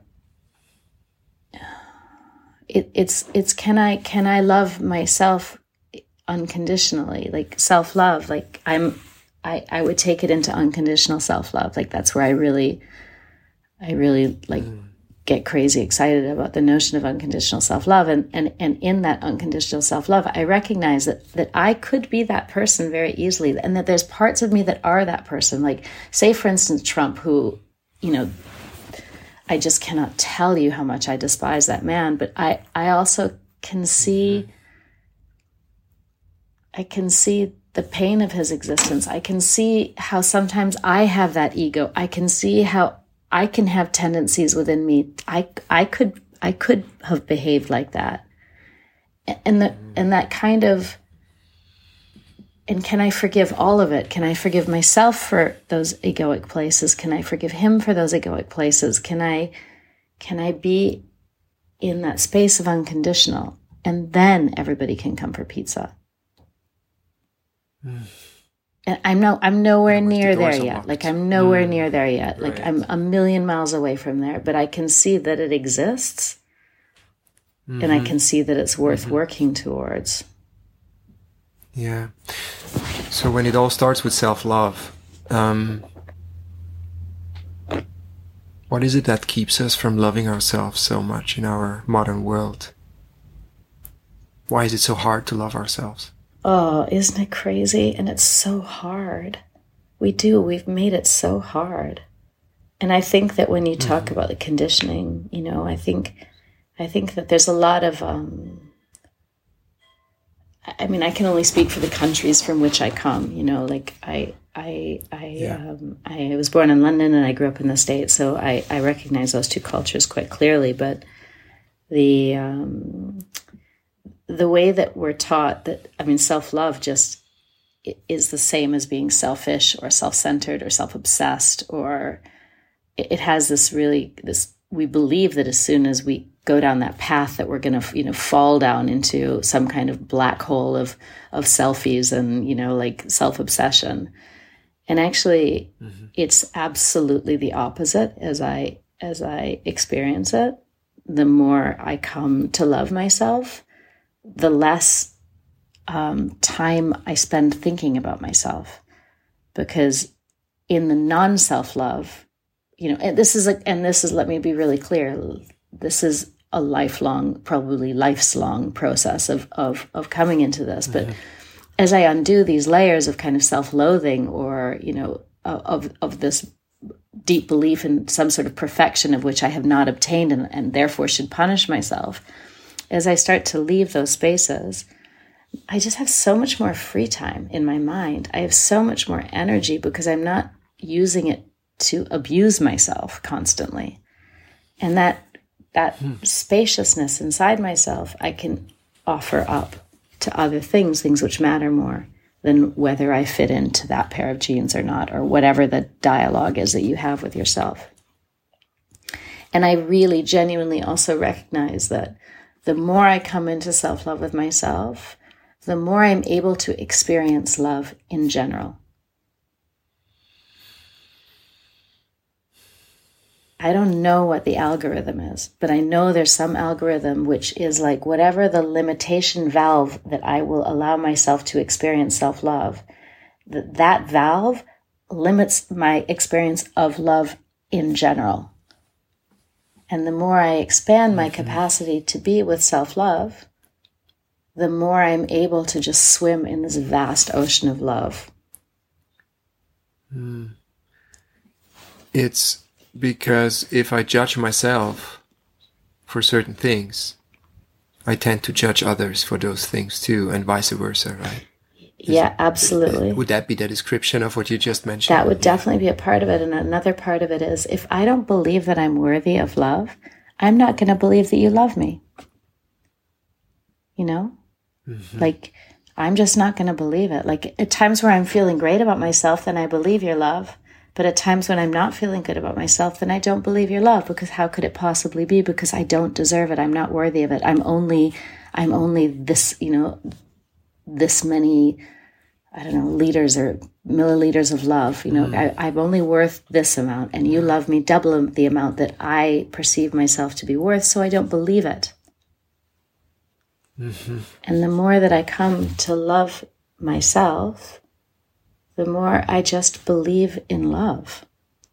Speaker 2: it, it's, it's, can I, can I love myself unconditionally? Like self-love, like I'm, I, I would take it into unconditional self-love. Like that's where I really, I really like mm. get crazy excited about the notion of unconditional self-love. And, and, and in that unconditional self-love, I recognize that, that I could be that person very easily. And that there's parts of me that are that person. Like, say, for instance, Trump, who, you know, I just cannot tell you how much I despise that man. But I, I also can see, I can see the pain of his existence. I can see how sometimes I have that ego. I can see how I can have tendencies within me. I, I could, I could have behaved like that. And the, and that kind of, and can I forgive all of it? Can I forgive myself for those egoic places? Can I forgive him for those egoic places? Can I, can I be in that space of unconditional? And then everybody can come for pizza. Mm. And I'm no, I'm nowhere near there yet. Locked. Like I'm nowhere mm. near there yet. Like right. I'm a million miles away from there, but I can see that it exists, mm-hmm. and I can see that it's worth mm-hmm. working towards.
Speaker 1: Yeah. So when it all starts with self-love, um, What is it that keeps us from loving ourselves so much in our modern world? Why is it so hard to love ourselves?
Speaker 2: Oh, isn't it crazy? And it's so hard. We do. We've made it so hard. And I think that when you talk mm-hmm. about the conditioning, you know, I think, I think that there's a lot of, um, I mean, I can only speak for the countries from which I come, you know, like I, I, I, yeah. um, I was born in London and I grew up in the States. So I, I recognize those two cultures quite clearly, but the, um, the way that we're taught that, I mean, self-love just is the same as being selfish or self-centered or self-obsessed, or it has this really, this, we believe that as soon as we go down that path that we're going to, you know, fall down into some kind of black hole of, of selfies and, you know, like self-obsession. And actually mm-hmm. it's absolutely the opposite as I, as I experience it. The more I come to love myself, the less um, time I spend thinking about myself, because in the non-self-love, you know, and this is a, and this is, let me be really clear. This is a lifelong, probably life's long process of, of, of coming into this. Mm-hmm. But as I undo these layers of kind of self-loathing or, you know, of, of this deep belief in some sort of perfection of which I have not obtained and, and therefore should punish myself, as I start to leave those spaces, I just have so much more free time in my mind. I have so much more energy because I'm not using it to abuse myself constantly. And that that hmm. spaciousness inside myself, I can offer up to other things, things which matter more than whether I fit into that pair of jeans or not, or whatever the dialogue is that you have with yourself. And I really genuinely also recognize that the more I come into self-love with myself, the more I'm able to experience love in general. I don't know what the algorithm is, but I know there's some algorithm which is like whatever the limitation valve that I will allow myself to experience self-love, that that valve limits my experience of love in general. And the more I expand my capacity to be with self-love, the more I'm able to just swim in this vast ocean of love.
Speaker 1: Mm. It's because if I judge myself for certain things, I tend to judge others for those things too, and vice versa, right?
Speaker 2: Yeah, it, absolutely.
Speaker 1: Would that be the description of what you just mentioned?
Speaker 2: That would definitely be a part of it. And another part of it is, if I don't believe that I'm worthy of love, I'm not going to believe that you love me. You know? Mm-hmm. Like, I'm just not going to believe it. Like, at times where I'm feeling great about myself, then I believe your love. But at times when I'm not feeling good about myself, then I don't believe your love, because how could it possibly be? Because I don't deserve it. I'm not worthy of it. I'm only, I'm only this, you know, this many, I don't know, liters or milliliters of love. You know, mm. I, I'm only worth this amount, and you love me double the amount that I perceive myself to be worth, so I don't believe it. Mm-hmm. And the more that I come to love myself, the more I just believe in love.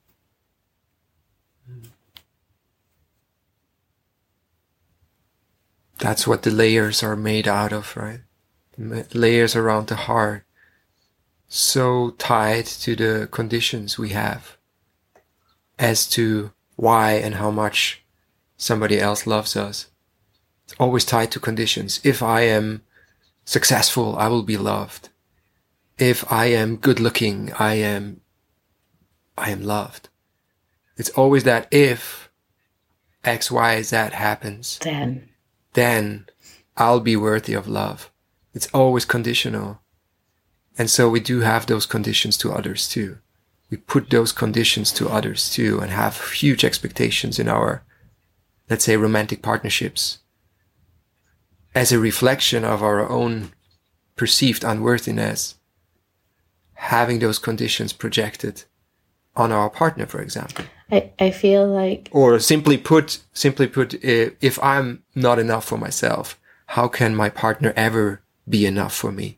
Speaker 1: That's what the layers are made out of, right? The layers around the heart. So tied to the conditions we have as to why and how much somebody else loves us. It's always tied to conditions. If I am successful, I will be loved. If I am good looking, I am, I am loved. It's always that if X, Y, Z happens,
Speaker 2: then,
Speaker 1: then I'll be worthy of love. It's always conditional. And so we do have those conditions to others too. We put those conditions to others too, and have huge expectations in our, let's say, romantic partnerships as a reflection of our own perceived unworthiness, having those conditions projected on our partner, for example.
Speaker 2: I, I feel like...
Speaker 1: Or simply put, simply put, if I'm not enough for myself, how can my partner ever be enough for me?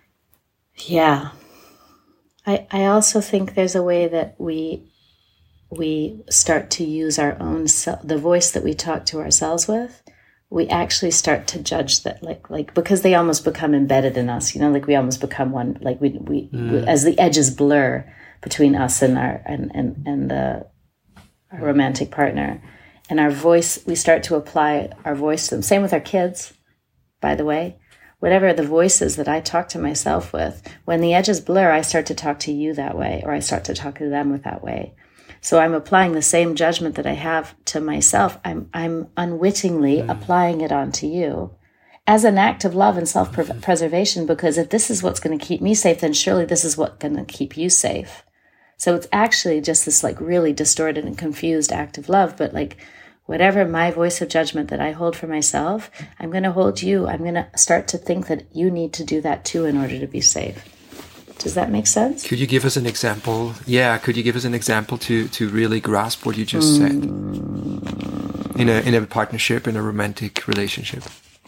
Speaker 2: Yeah. I, I also think there's a way that we we start to use our own self, the voice that we talk to ourselves with, we actually start to judge that, like, like because they almost become embedded in us, you know, like we almost become one, like we, we, mm. we as the edges blur between us and our, and, and, and the our romantic partner, and our voice, we start to apply our voice to them. Same with our kids, by the way. Whatever the voices that I talk to myself with, when the edges blur, I start to talk to you that way, or I start to talk to them with that way. So I'm applying the same judgment that I have to myself. I'm I'm unwittingly mm. applying it onto you as an act of love and self-preservation, because if this is what's going to keep me safe, then surely this is what's going to keep you safe. So it's actually just this like really distorted and confused act of love, but like whatever my voice of judgment that I hold for myself, I'm going to hold you. I'm going to start to think that you need to do that too in order to be safe. Does that make sense?
Speaker 1: Could you give us an example? Yeah, could you give us an example to, to really grasp what you just mm. said in a in a partnership, in a romantic relationship?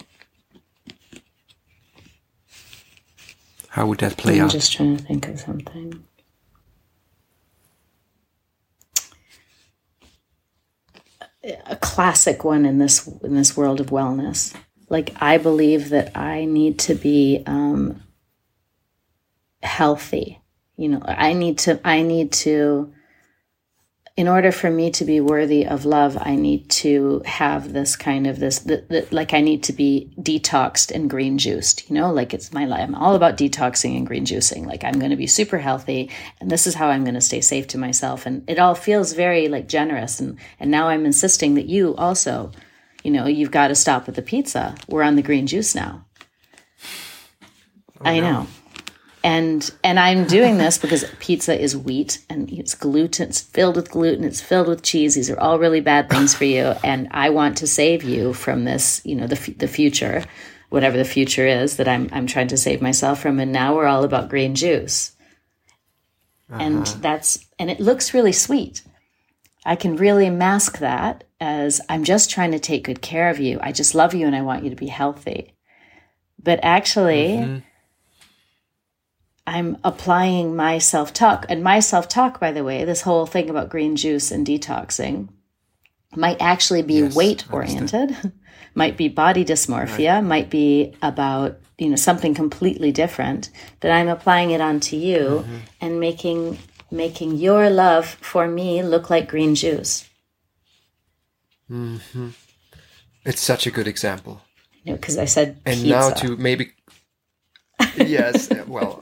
Speaker 1: How would that play
Speaker 2: I'm
Speaker 1: out?
Speaker 2: I'm just trying to think of something. A classic one in this in this world of wellness. Like, I believe that I need to be um, healthy. You know, I need to, I need to, in order for me to be worthy of love, I need to have this kind of this, the, the, like I need to be detoxed and green juiced, you know, like it's my life. I'm all about detoxing and green juicing. Like, I'm going to be super healthy, and this is how I'm going to stay safe to myself. And it all feels very like generous. And, and now I'm insisting that you also, you know, you've got to stop with the pizza. We're on the green juice now. Oh, I no. know. And and I'm doing this because pizza is wheat, and it's gluten. It's filled with gluten. It's filled with cheese. These are all really bad things for you. And I want to save you from this, you know, the the future, whatever the future is that I'm I'm trying to save myself from. And now we're all about green juice. Uh-huh. And that's and it looks really sweet. I can really mask that as I'm just trying to take good care of you. I just love you and I want you to be healthy. But actually, mm-hmm. I'm applying my self-talk. And my self-talk, by the way, this whole thing about green juice and detoxing might actually be yes, weight-oriented, might be body dysmorphia, right. might be about, you know, something completely different. But I'm applying it onto you mm-hmm. and making making your love for me look like green juice.
Speaker 1: Mm-hmm. It's such a good example.
Speaker 2: You know, because I said
Speaker 1: and
Speaker 2: pizza.
Speaker 1: now to maybe... Yes, well...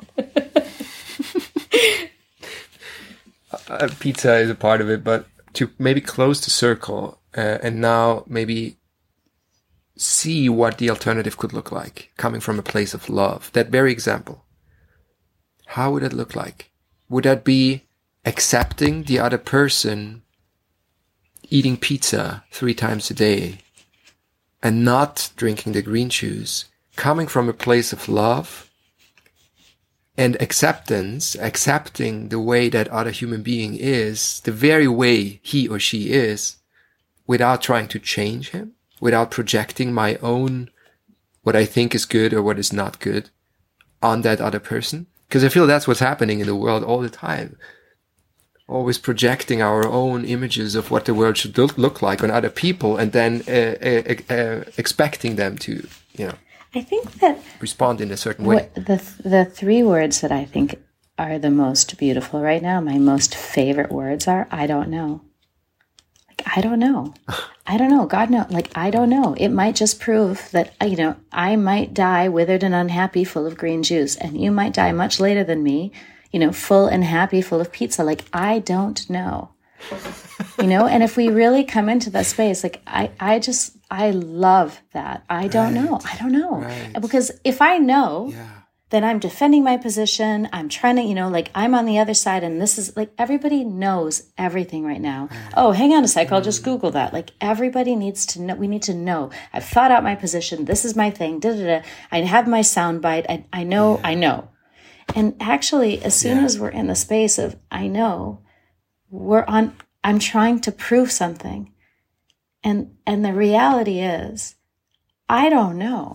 Speaker 1: Uh, pizza is a part of it, but to maybe close the circle uh, and now maybe see what the alternative could look like, coming from a place of love. That very example. How would it look like? Would that be accepting the other person eating pizza three times a day and not drinking the green juice, coming from a place of love and acceptance, accepting the way that other human being is, the very way he or she is, without trying to change him, without projecting my own, what I think is good or what is not good on that other person? Because I feel that's what's happening in the world all the time. Always projecting our own images of what the world should look like on other people, and then uh, uh, uh, expecting them to, you know,
Speaker 2: I think that
Speaker 1: respond in a certain way.
Speaker 2: The the three words that I think are the most beautiful right now, my most favorite words are, I don't know. Like, I don't know. I don't know. God knows. Like, I don't know. It might just prove that, you know, I might die withered and unhappy, full of green juice, and you might die much later than me, you know, full and happy, full of pizza. Like, I don't know. You know, and if we really come into that space, like, I, I just, I love that. I don't right. know. I don't know. Right. Because if I know, yeah. then I'm defending my position. I'm trying to, you know, like, I'm on the other side, and this is like, everybody knows everything right now. Right. Oh, hang on a sec. I'll just Google that. Like, everybody needs to know. We need to know. I've thought out my position. This is my thing. Da, da, da. I have my soundbite. I, I know, yeah. I know. And actually, as soon yeah. as we're in the space of, I know, we're on, I'm trying to prove something. And, and the reality is, I don't know.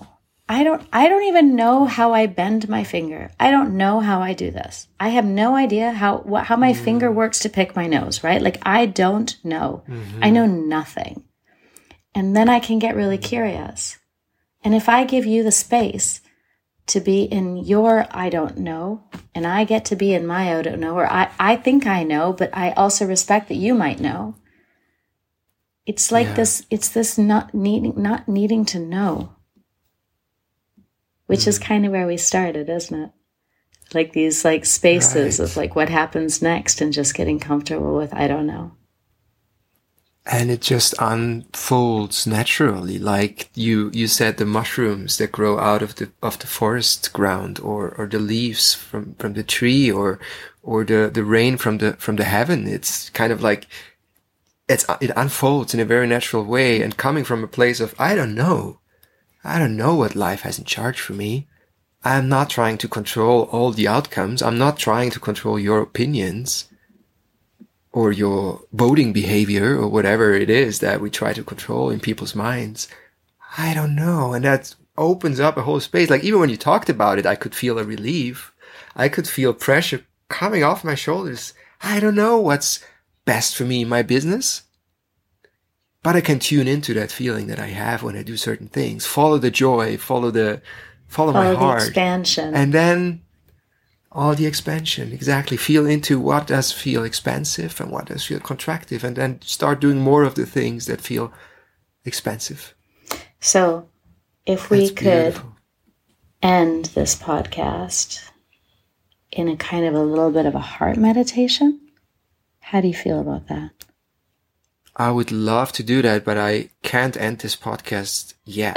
Speaker 2: I don't, I don't even know how I bend my finger. I don't know how I do this. I have no idea how, what, how my mm. finger works to pick my nose, right? Like, I don't know. Mm-hmm. I know nothing. And then I can get really curious. And if I give you the space to be in your I don't know, and I get to be in my I don't know, or I, I think I know, but I also respect that you might know. It's like yeah. this, it's this not needing, not needing to know. Which mm. is kind of where we started, isn't it? Like these like spaces right. of like what happens next and just getting comfortable with, I don't know.
Speaker 1: And it just unfolds naturally. Like you, you said, the mushrooms that grow out of the, of the forest ground, or, or the leaves from, from the tree, or, or the, the rain from the, from the heaven. It's kind of like, it's, it unfolds in a very natural way, and coming from a place of, I don't know. I don't know what life has in charge for me. I'm not trying to control all the outcomes. I'm not trying to control your opinions or your voting behavior or whatever it is that we try to control in people's minds. I don't know. And that opens up a whole space. Like, even when you talked about it, I could feel a relief. I could feel pressure coming off my shoulders. I don't know what's best for me in my business. But I can tune into that feeling that I have when I do certain things. Follow the joy, follow the, follow, follow my heart.
Speaker 2: The expansion.
Speaker 1: And then all the expansion, exactly. Feel into what does feel expansive and what does feel contractive, and then start doing more of the things that feel expansive.
Speaker 2: So if we
Speaker 1: That's
Speaker 2: could
Speaker 1: beautiful.
Speaker 2: End this podcast in a kind of a little bit of a heart meditation, how do you feel about that?
Speaker 1: I would love to do that, but I can't end this podcast yet.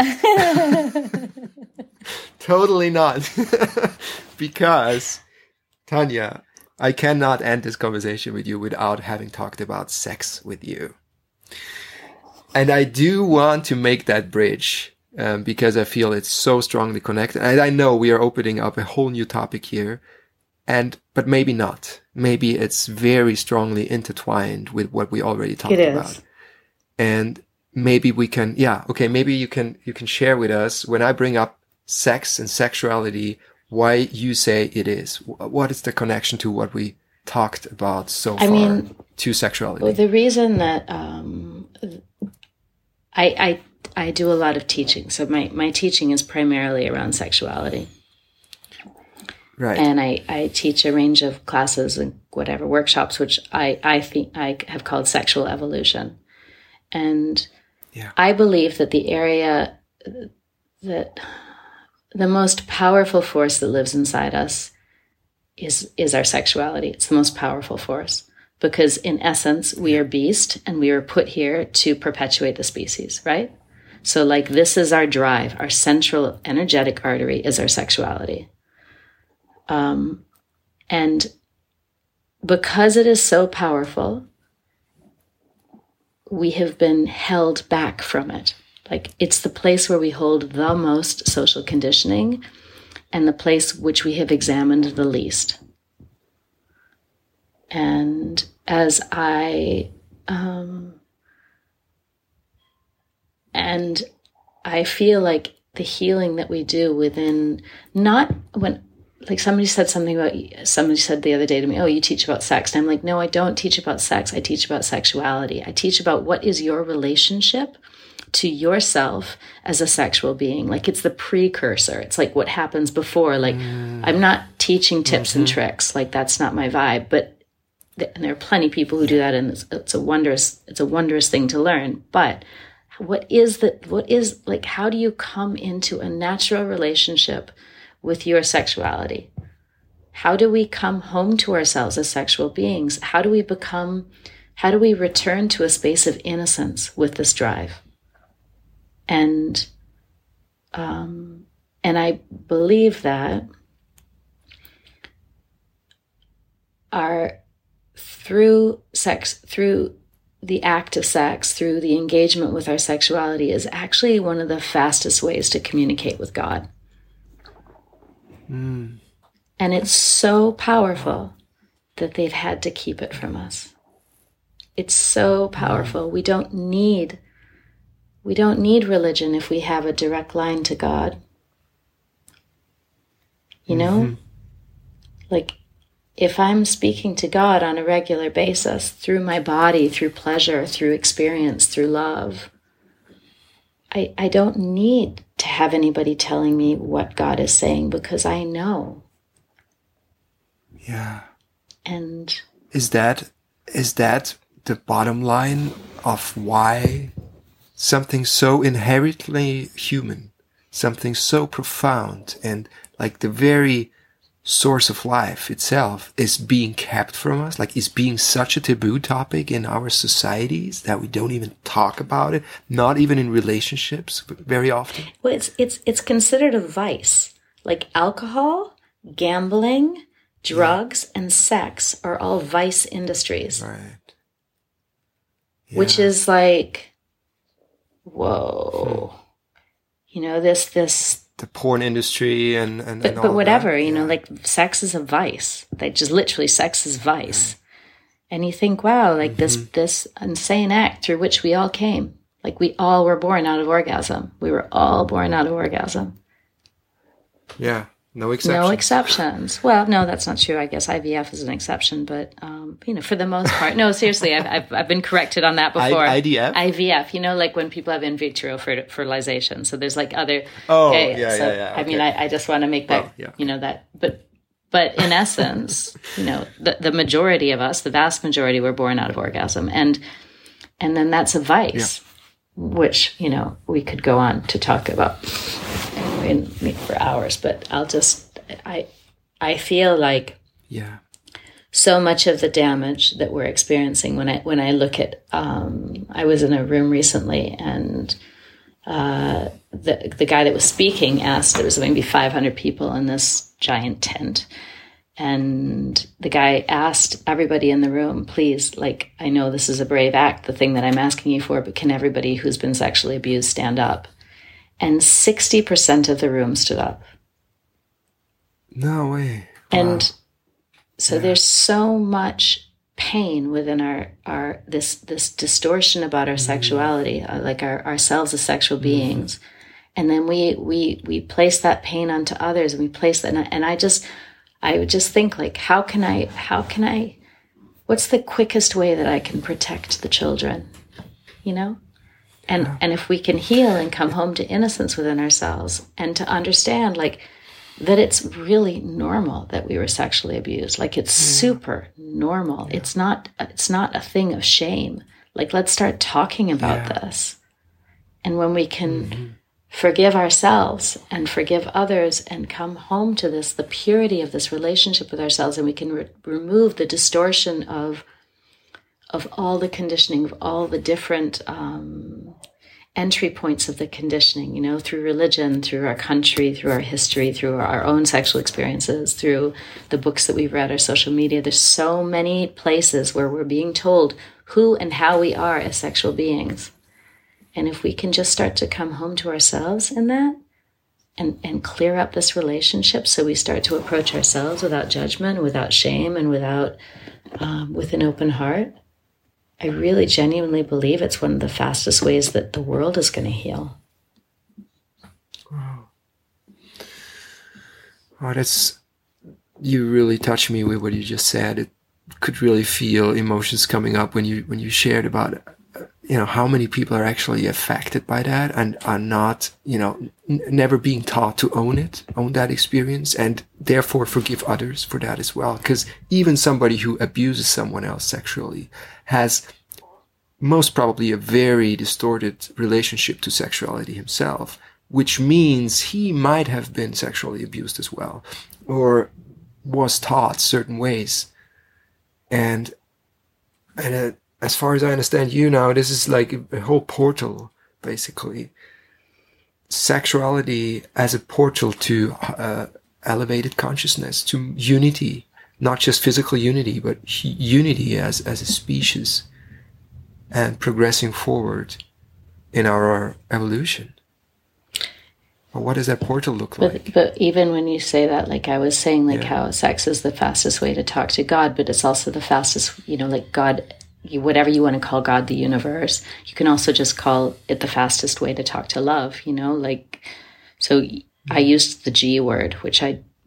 Speaker 1: Totally not. Because, Tanya, I cannot end this conversation with you without having talked about sex with you. And I do want to make that bridge, um, because I feel it's so strongly connected. And I know we are opening up a whole new topic here. And, but maybe not. Maybe it's very strongly intertwined with what we already talked about. And maybe we can, yeah, okay, maybe you can, you can share with us, when I bring up sex and sexuality, why you say it is. What is the connection to what we talked about so
Speaker 2: I
Speaker 1: far
Speaker 2: mean,
Speaker 1: to sexuality?
Speaker 2: Well, the reason that, um, I, I, I do a lot of teaching. So my, my teaching is primarily around sexuality.
Speaker 1: Right.
Speaker 2: And I, I teach a range of classes and whatever workshops, which I, I think I have called sexual evolution. And yeah. I believe that the area that the most powerful force that lives inside us is, is our sexuality. It's the most powerful force, because in essence, we are beast and we were put here to perpetuate the species, right? So like, this is our drive. Our central energetic artery is our sexuality. Um, and because it is so powerful, we have been held back from it. Like, it's the place where we hold the most social conditioning and the place which we have examined the least. And as I, um, and I feel like the healing that we do within, not when, like somebody said something about, somebody said the other day to me, oh, you teach about sex. And I'm like, no, I don't teach about sex. I teach about sexuality. I teach about what is your relationship to yourself as a sexual being. Like, it's the precursor. It's like what happens before. Like, mm. I'm not teaching tips mm-hmm. and tricks. Like, that's not my vibe. But th- and there are plenty of people who do that, and it's, it's a wondrous, it's a wondrous thing to learn. But what is the, what is, like, how do you come into a natural relationship with your sexuality? How do we come home to ourselves as sexual beings? How do we become, how do we return to a space of innocence with this drive? And, um, and I believe that our, through sex, through the act of sex, through the engagement with our sexuality, is actually one of the fastest ways to communicate with God. Mm. And it's so powerful that they've had to keep it from us. It's so powerful. We don't need, we don't need religion if we have a direct line to God. You know? Mm-hmm. Like, if I'm speaking to God on a regular basis through my body, through pleasure, through experience, through love, I, I don't need to have anybody telling me what God is saying because I know.
Speaker 1: Yeah.
Speaker 2: And
Speaker 1: is that is that the bottom line of why something so inherently human, something so profound and like the very source of life itself is being kept from us, like is being such a taboo topic in our societies that we don't even talk about it, not even in relationships very often?
Speaker 2: Well, it's it's it's considered a vice. Like alcohol, gambling, drugs, yeah. and sex are all vice industries.
Speaker 1: Right. Yeah.
Speaker 2: Which is like, whoa. Hmm. You know, this this
Speaker 1: the porn industry and, and,
Speaker 2: but,
Speaker 1: and all
Speaker 2: but whatever,
Speaker 1: that.
Speaker 2: you
Speaker 1: yeah.
Speaker 2: know, like sex is a vice. Like just literally sex is vice. Yeah. And you think, wow, like mm-hmm. this, this insane act through which we all came. Like we all were born out of orgasm. We were all born out of orgasm.
Speaker 1: Yeah. No exceptions.
Speaker 2: No exceptions. Well, no, that's not true. I guess I V F is an exception, but um, you know, for the most part, no. Seriously, I've I've, I've been corrected on that before.
Speaker 1: I D F.
Speaker 2: I V F. You know, like when people have in vitro fertilization. So there's like other.
Speaker 1: Oh,
Speaker 2: yeah,
Speaker 1: yeah,
Speaker 2: so,
Speaker 1: yeah, yeah. Okay.
Speaker 2: I mean, I, I just want to make that.
Speaker 1: Well, yeah.
Speaker 2: You know that, but but in essence, you know, the the majority of us, the vast majority, were born out of orgasm, and and then that's a vice, yeah. which you know we could go on to talk about. In, for hours, but I'll just I I feel like
Speaker 1: yeah
Speaker 2: so much of the damage that we're experiencing when I when I look at um, I was in a room recently and uh, the the guy that was speaking asked, there was maybe five hundred people in this giant tent, and the guy asked everybody in the room, please, like, I know this is a brave act, the thing that I'm asking you for, but can everybody who's been sexually abused stand up? And sixty percent of the room stood up.
Speaker 1: No way. Wow.
Speaker 2: And so yeah. there's so much pain within our, our this this distortion about our mm. sexuality, uh, like our ourselves as sexual mm. beings. And then we we we place that pain onto others, and we place that, and I just I would just think, like, how can I how can I what's the quickest way that I can protect the children? You know? And yeah. and if we can heal and come home to innocence within ourselves and to understand, like, that it's really normal that we were sexually abused. Like, it's yeah. super normal. Yeah. It's not it's not a thing of shame. Like, let's start talking about yeah. this. And when we can mm-hmm. forgive ourselves and forgive others and come home to this, the purity of this relationship with ourselves, and we can re- remove the distortion of of all the conditioning, of all the different um, entry points of the conditioning, you know, through religion, through our country, through our history, through our own sexual experiences, through the books that we've read, our social media. There's so many places where we're being told who and how we are as sexual beings. And if we can just start to come home to ourselves in that and, and clear up this relationship, so we start to approach ourselves without judgment, without shame, and without um, with an open heart, I really genuinely believe it's one of the fastest ways that the world is going to heal.
Speaker 1: Wow. Oh, that's, you really touched me with what you just said. It could really feel emotions coming up when you when you shared about, uh, you know, how many people are actually affected by that and are not, you know, n- never being taught to own it, own that experience, and therefore forgive others for that as well. Because even somebody who abuses someone else sexually has most probably a very distorted relationship to sexuality himself, which means he might have been sexually abused as well, or was taught certain ways. And, and uh, as far as I understand you now, this is like a, a whole portal, basically. Sexuality as a portal to uh, elevated consciousness, to unity, not just physical unity, but unity as, as a species, and progressing forward in our evolution. Well, what does that portal look
Speaker 2: but,
Speaker 1: like?
Speaker 2: But even when you say that, like I was saying, like yeah. how sex is the fastest way to talk to God, but it's also the fastest, you know, like God, you, whatever you want to call God, the universe, you can also just call it the fastest way to talk to love, you know, like, so mm-hmm. I used the G word, which I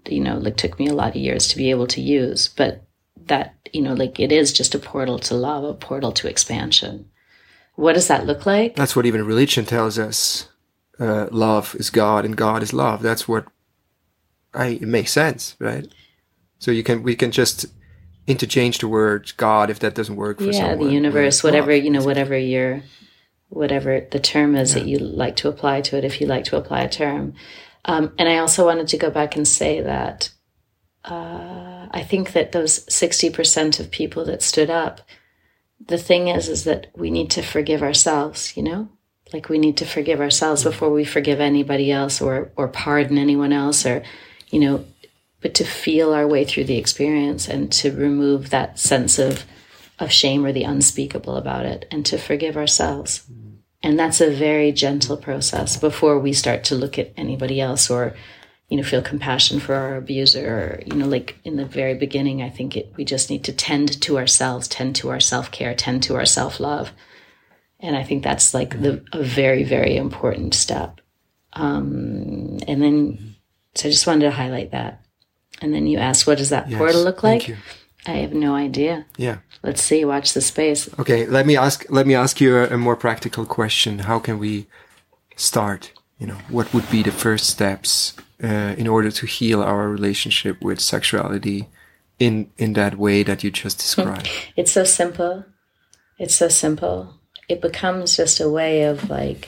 Speaker 2: you know, like took me a lot of years to be able to use. But that, you know, like it is just a portal to love, a portal to expansion. What does that look like?
Speaker 1: That's what even religion tells us. Uh, love is God and God is love. That's what I, it makes sense, right? So you can, we can just interchange the word God if that doesn't work for
Speaker 2: yeah,
Speaker 1: someone.
Speaker 2: the universe, whatever,
Speaker 1: love.
Speaker 2: you know, whatever your, whatever the term is
Speaker 1: yeah.
Speaker 2: that you like to apply to it, if you like to apply a term. Um, and I also wanted to go back and say that uh, I think that those sixty percent of people that stood up, the thing is, is that we need to forgive ourselves, you know? Like we need to forgive ourselves mm-hmm. before we forgive anybody else or or pardon anyone else or, you know, but to feel our way through the experience and to remove that sense of, of shame or the unspeakable about it and to forgive ourselves. Mm-hmm. And that's a very gentle process before we start to look at anybody else or, you know, feel compassion for our abuser or, you know, like in the very beginning, I think it, we just need to tend to ourselves, tend to our self-care, tend to our self-love. And I think that's like the a very, very important step. Um, and then, so I just wanted to highlight that. And then you asked, what does that yes, portal look like?
Speaker 1: Thank you.
Speaker 2: I have no idea.
Speaker 1: Yeah.
Speaker 2: Let's see. Watch the space.
Speaker 1: Okay. Let me ask, let me ask you a, a more practical question. How can we start? You know, what would be the first steps uh, in order to heal our relationship with sexuality in, in that way that you just described?
Speaker 2: It's so simple. It's so simple. It becomes just a way of like,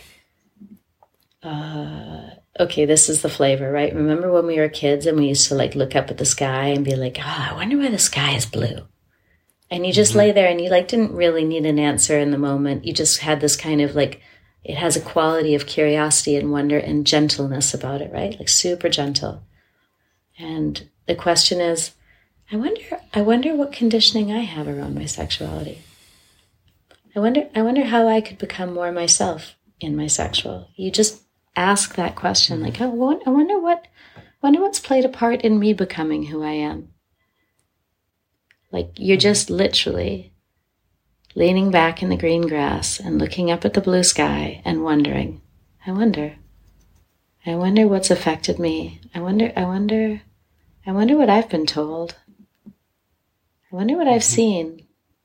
Speaker 2: uh, okay, this is the flavor, right? Remember when we were kids and we used to like look up at the sky and be like, oh, I wonder why the sky is blue. And you just mm-hmm. lay there and you like didn't really need an answer in the moment. You just had this kind of like, it has a quality of curiosity and wonder and gentleness about it, right? Like super gentle. And the question is, I wonder, I wonder what conditioning I have around my sexuality. I wonder, I wonder how I could become more myself in my sexual. You just ask that question, like, oh, I wonder what, wonder what's played a part in me becoming who I am. Like you're just literally leaning back in the green grass and looking up at the blue sky and wondering, I wonder, I wonder what's affected me. I wonder, I wonder, I wonder what I've been told. I wonder what I've seen.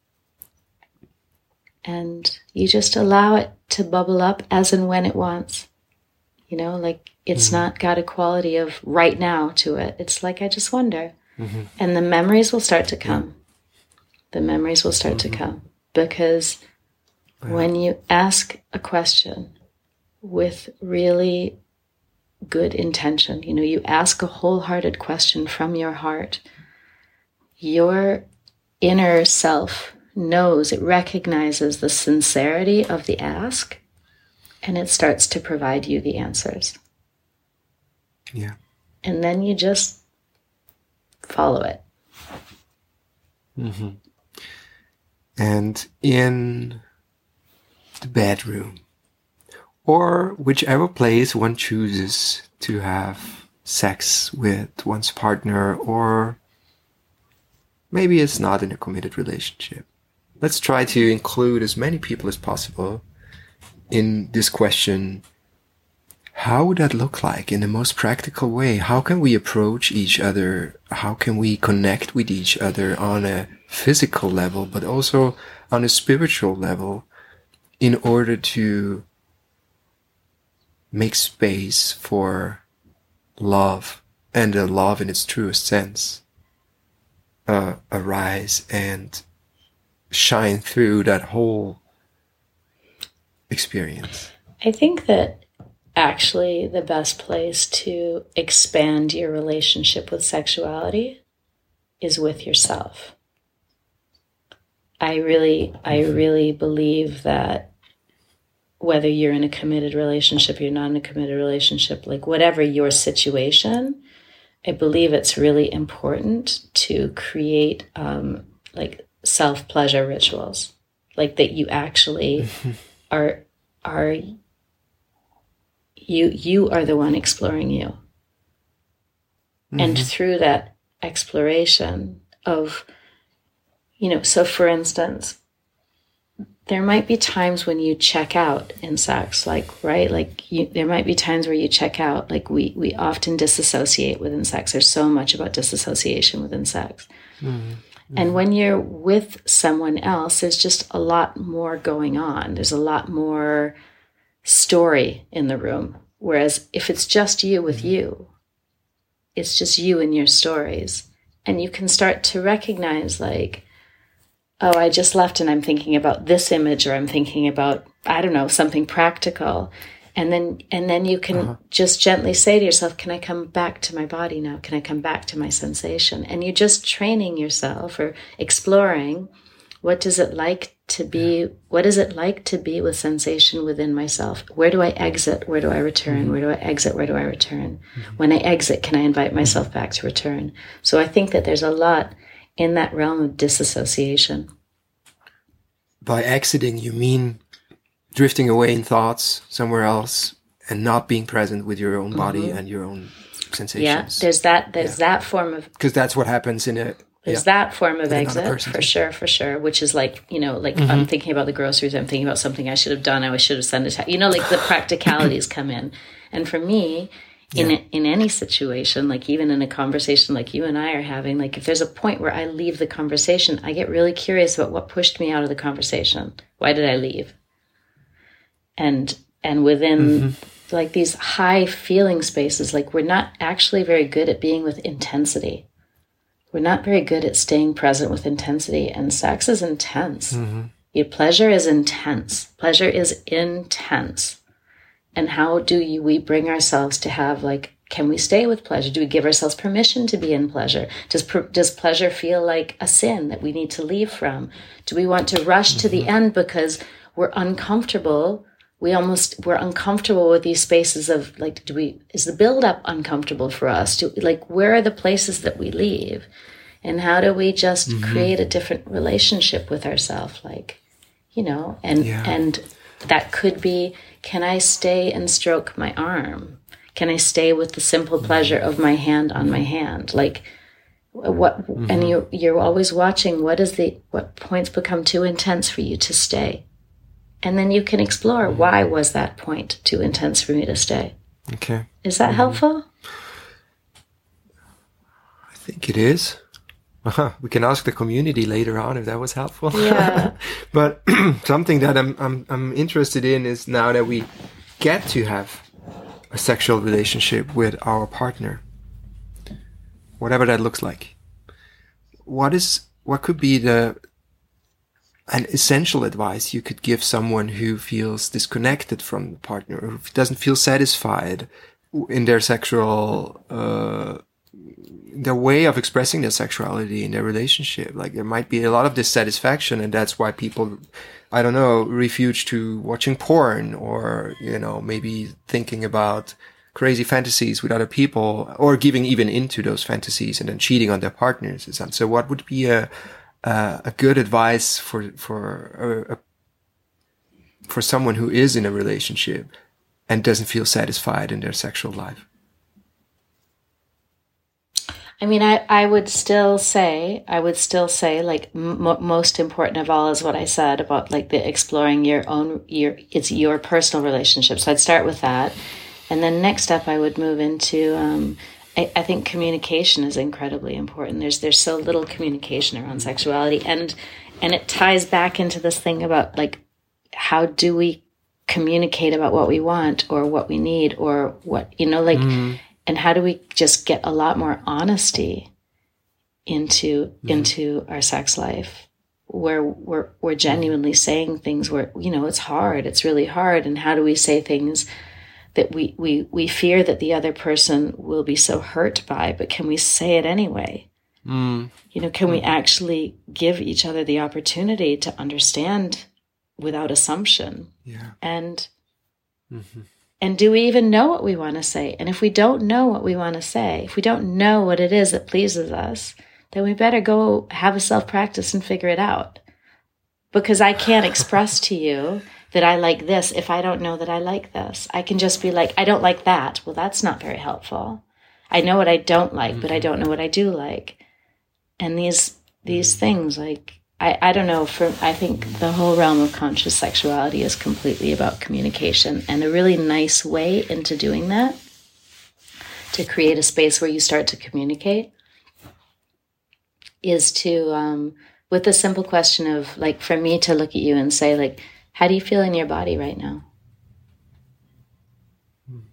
Speaker 2: And you just allow it to bubble up as and when it wants. You know, like it's mm-hmm. not got a quality of right now to it. It's like, I just wonder. Mm-hmm. And the memories will start to come. The memories will start mm-hmm. to come. Because yeah. when you ask a question with really good intention, you know, you ask a wholehearted question from your heart, your inner self knows, it recognizes the sincerity of the ask, and it starts to provide you the answers.
Speaker 1: Yeah.
Speaker 2: And then you just follow it.
Speaker 1: Mm-hmm. And in the bedroom, or whichever place one chooses to have sex with one's partner, or maybe it's not in a committed relationship. Let's try to include as many people as possible in this question. How would that look like in the most practical way? How can we approach each other? How can we connect with each other on a physical level, but also on a spiritual level, in order to make space for love, and a love in its truest sense, uh, arise and shine through that whole experience?
Speaker 2: I think that actually the best place to expand your relationship with sexuality is with yourself. I really, I really believe that whether you're in a committed relationship, you're not in a committed relationship, like whatever your situation, I believe it's really important to create um, like self-pleasure rituals, like that you actually are, are, you, you are the one exploring you. Mm-hmm. And through that exploration of, you know, so for instance, there might be times when you check out in sex, like, right? Like you, there might be times where you check out. Like we, we often disassociate within sex. There's so much about disassociation within sex. Mm-hmm. And when you're with someone else, there's just a lot more going on. There's a lot more story in the room. Whereas if it's just you with you, it's just you and your stories. And you can start to recognize like, oh, I just left and I'm thinking about this image, or I'm thinking about, I don't know, something practical. And then and then you can uh-huh. just gently say to yourself, can I come back to my body now? Can I come back to my sensation? And you're just training yourself or exploring, what does it like to be, yeah. what is it like to be with sensation within myself? Where do I exit? Where do I return? Mm-hmm. Where do I exit? Where do I return? Mm-hmm. When I exit, can I invite myself mm-hmm. back to return? So I think that there's a lot in that realm of disassociation.
Speaker 1: By exiting, you mean drifting away in thoughts somewhere else and not being present with your own body mm-hmm. and your own sensations.
Speaker 2: Yeah, there's that, there's yeah. that form of...
Speaker 1: Because that's what happens in a...
Speaker 2: There's yeah, that form of exit, for sure, for sure, which is like, you know, like mm-hmm. I'm thinking about the groceries, I'm thinking about something I should have done, I should have sent a text. You know, like the practicalities come in. And for me... In yeah. in any situation, like even in a conversation like you and I are having, like if there's a point where I leave the conversation, I get really curious about what pushed me out of the conversation. Why did I leave? And and within mm-hmm. like these high feeling spaces, like we're not actually very good at being with intensity. We're not very good at staying present with intensity, and sex is intense. Mm-hmm. Your pleasure is intense. Pleasure is intense. And how do you, we bring ourselves to have, like, can we stay with pleasure? Do we give ourselves permission to be in pleasure? Does does pleasure feel like a sin that we need to leave from? Do we want to rush mm-hmm. to the end because we're uncomfortable? We almost, we're uncomfortable with these spaces of, like, do we, is the buildup uncomfortable for us? Do, like, where are the places that we leave? And how do we just mm-hmm. create a different relationship with ourselves? Like, you know, and yeah. and that could be, can I stay and stroke my arm? Can I stay with the simple pleasure of my hand on my hand? Like what, mm-hmm. and you, you're always watching what is the, what points become too intense for you to stay. And then you can explore, mm-hmm. why was that point too intense for me to stay?
Speaker 1: Okay.
Speaker 2: Is that mm-hmm. helpful?
Speaker 1: I think it is. Uh-huh. We can ask the community later on if that was helpful.
Speaker 2: Yeah.
Speaker 1: But something that I'm I'm I'm interested in is now that we get to have a sexual relationship with our partner, whatever that looks like. What is what could be the an essential advice you could give someone who feels disconnected from the partner, or who doesn't feel satisfied in their sexual uh their way of expressing their sexuality in their relationship? Like there might be a lot of dissatisfaction, and that's why people, I don't know, refuge to watching porn, or, you know, maybe thinking about crazy fantasies with other people, or giving even into those fantasies and then cheating on their partners. So what would be a, a, a good advice for, for, a, a, for someone who is in a relationship and doesn't feel satisfied in their sexual life?
Speaker 2: I mean, I, I would still say, I would still say, like, m- most important of all is what I said about, like, the exploring your own, your, it's your personal relationship. So I'd start with that. And then next up, I would move into, um, I, I think communication is incredibly important. There's, there's so little communication around sexuality. And, and it ties back into this thing about, like, how do we communicate about what we want or what we need or what, you know, like, mm. And how do we just get a lot more honesty into mm-hmm. into our sex life, where we're we're genuinely saying things where, you know, it's hard, it's really hard, and how do we say things that we we we fear that the other person will be so hurt by, but can we say it anyway? Mm. You know, can mm. we actually give each other the opportunity to understand without assumption?
Speaker 1: Yeah.
Speaker 2: And mm-hmm. And do we even know what we want to say? And if we don't know what we want to say, if we don't know what it is that pleases us, then we better go have a self-practice and figure it out. Because I can't express to you that I like this if I don't know that I like this. I can just be like, I don't like that. Well, that's not very helpful. I know what I don't like, mm-hmm. but I don't know what I do like. And these these mm-hmm. things, like, I, I don't know, for I think the whole realm of conscious sexuality is completely about communication, and a really nice way into doing that, to create a space where you start to communicate, is to, um, with the simple question of, like, for me to look at you and say, like, how do you feel in your body right now? Hmm.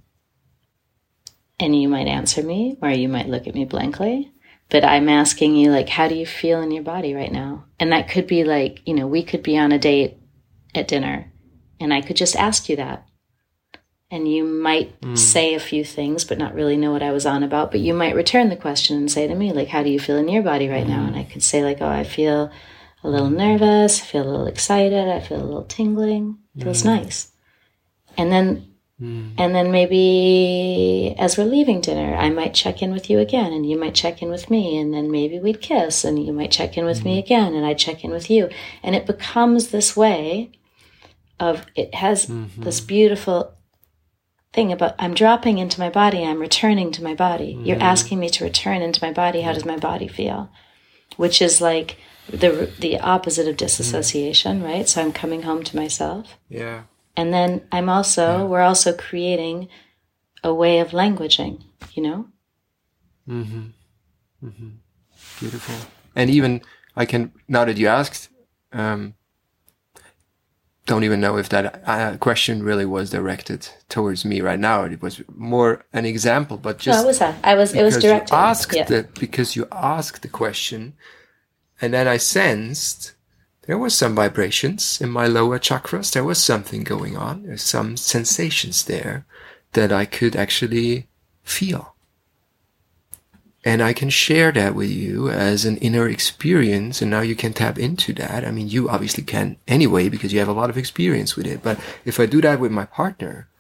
Speaker 2: And you might answer me, or you might look at me blankly. But I'm asking you, like, how do you feel in your body right now? And that could be like, you know, we could be on a date at dinner, and I could just ask you that. And you might mm. say a few things, but not really know what I was on about. But you might return the question and say to me, like, how do you feel in your body right mm. now? And I could say, like, oh, I feel a little nervous. I feel a little excited. I feel a little tingling. It feels mm. nice. And then Mm. And then maybe as we're leaving dinner, I might check in with you again, and you might check in with me, and then maybe we'd kiss, and you might check in with mm. me again, and I'd check in with you. And it becomes this way of, it has mm-hmm. this beautiful thing about, I'm dropping into my body, I'm returning to my body. Mm. You're asking me to return into my body. How does my body feel? Which is like the the opposite of disassociation, mm. right? So I'm coming home to myself.
Speaker 1: Yeah.
Speaker 2: And then I'm also, yeah. we're also creating a way of languaging, you know?
Speaker 1: Mm-hmm. Mm-hmm. Beautiful. And even, I can, now that you asked, um, don't even know if that uh, question really was directed towards me right now. It was more an example, but just...
Speaker 2: No, it was that. I was, it was directed.
Speaker 1: You asked
Speaker 2: yeah.
Speaker 1: the, because you asked the question, and then I sensed... there was some vibrations in my lower chakras. There was something going on. There's some sensations there that I could actually feel. And I can share that with you as an inner experience. And now you can tap into that. I mean, you obviously can anyway, because you have a lot of experience with it. But if I do that with my partner,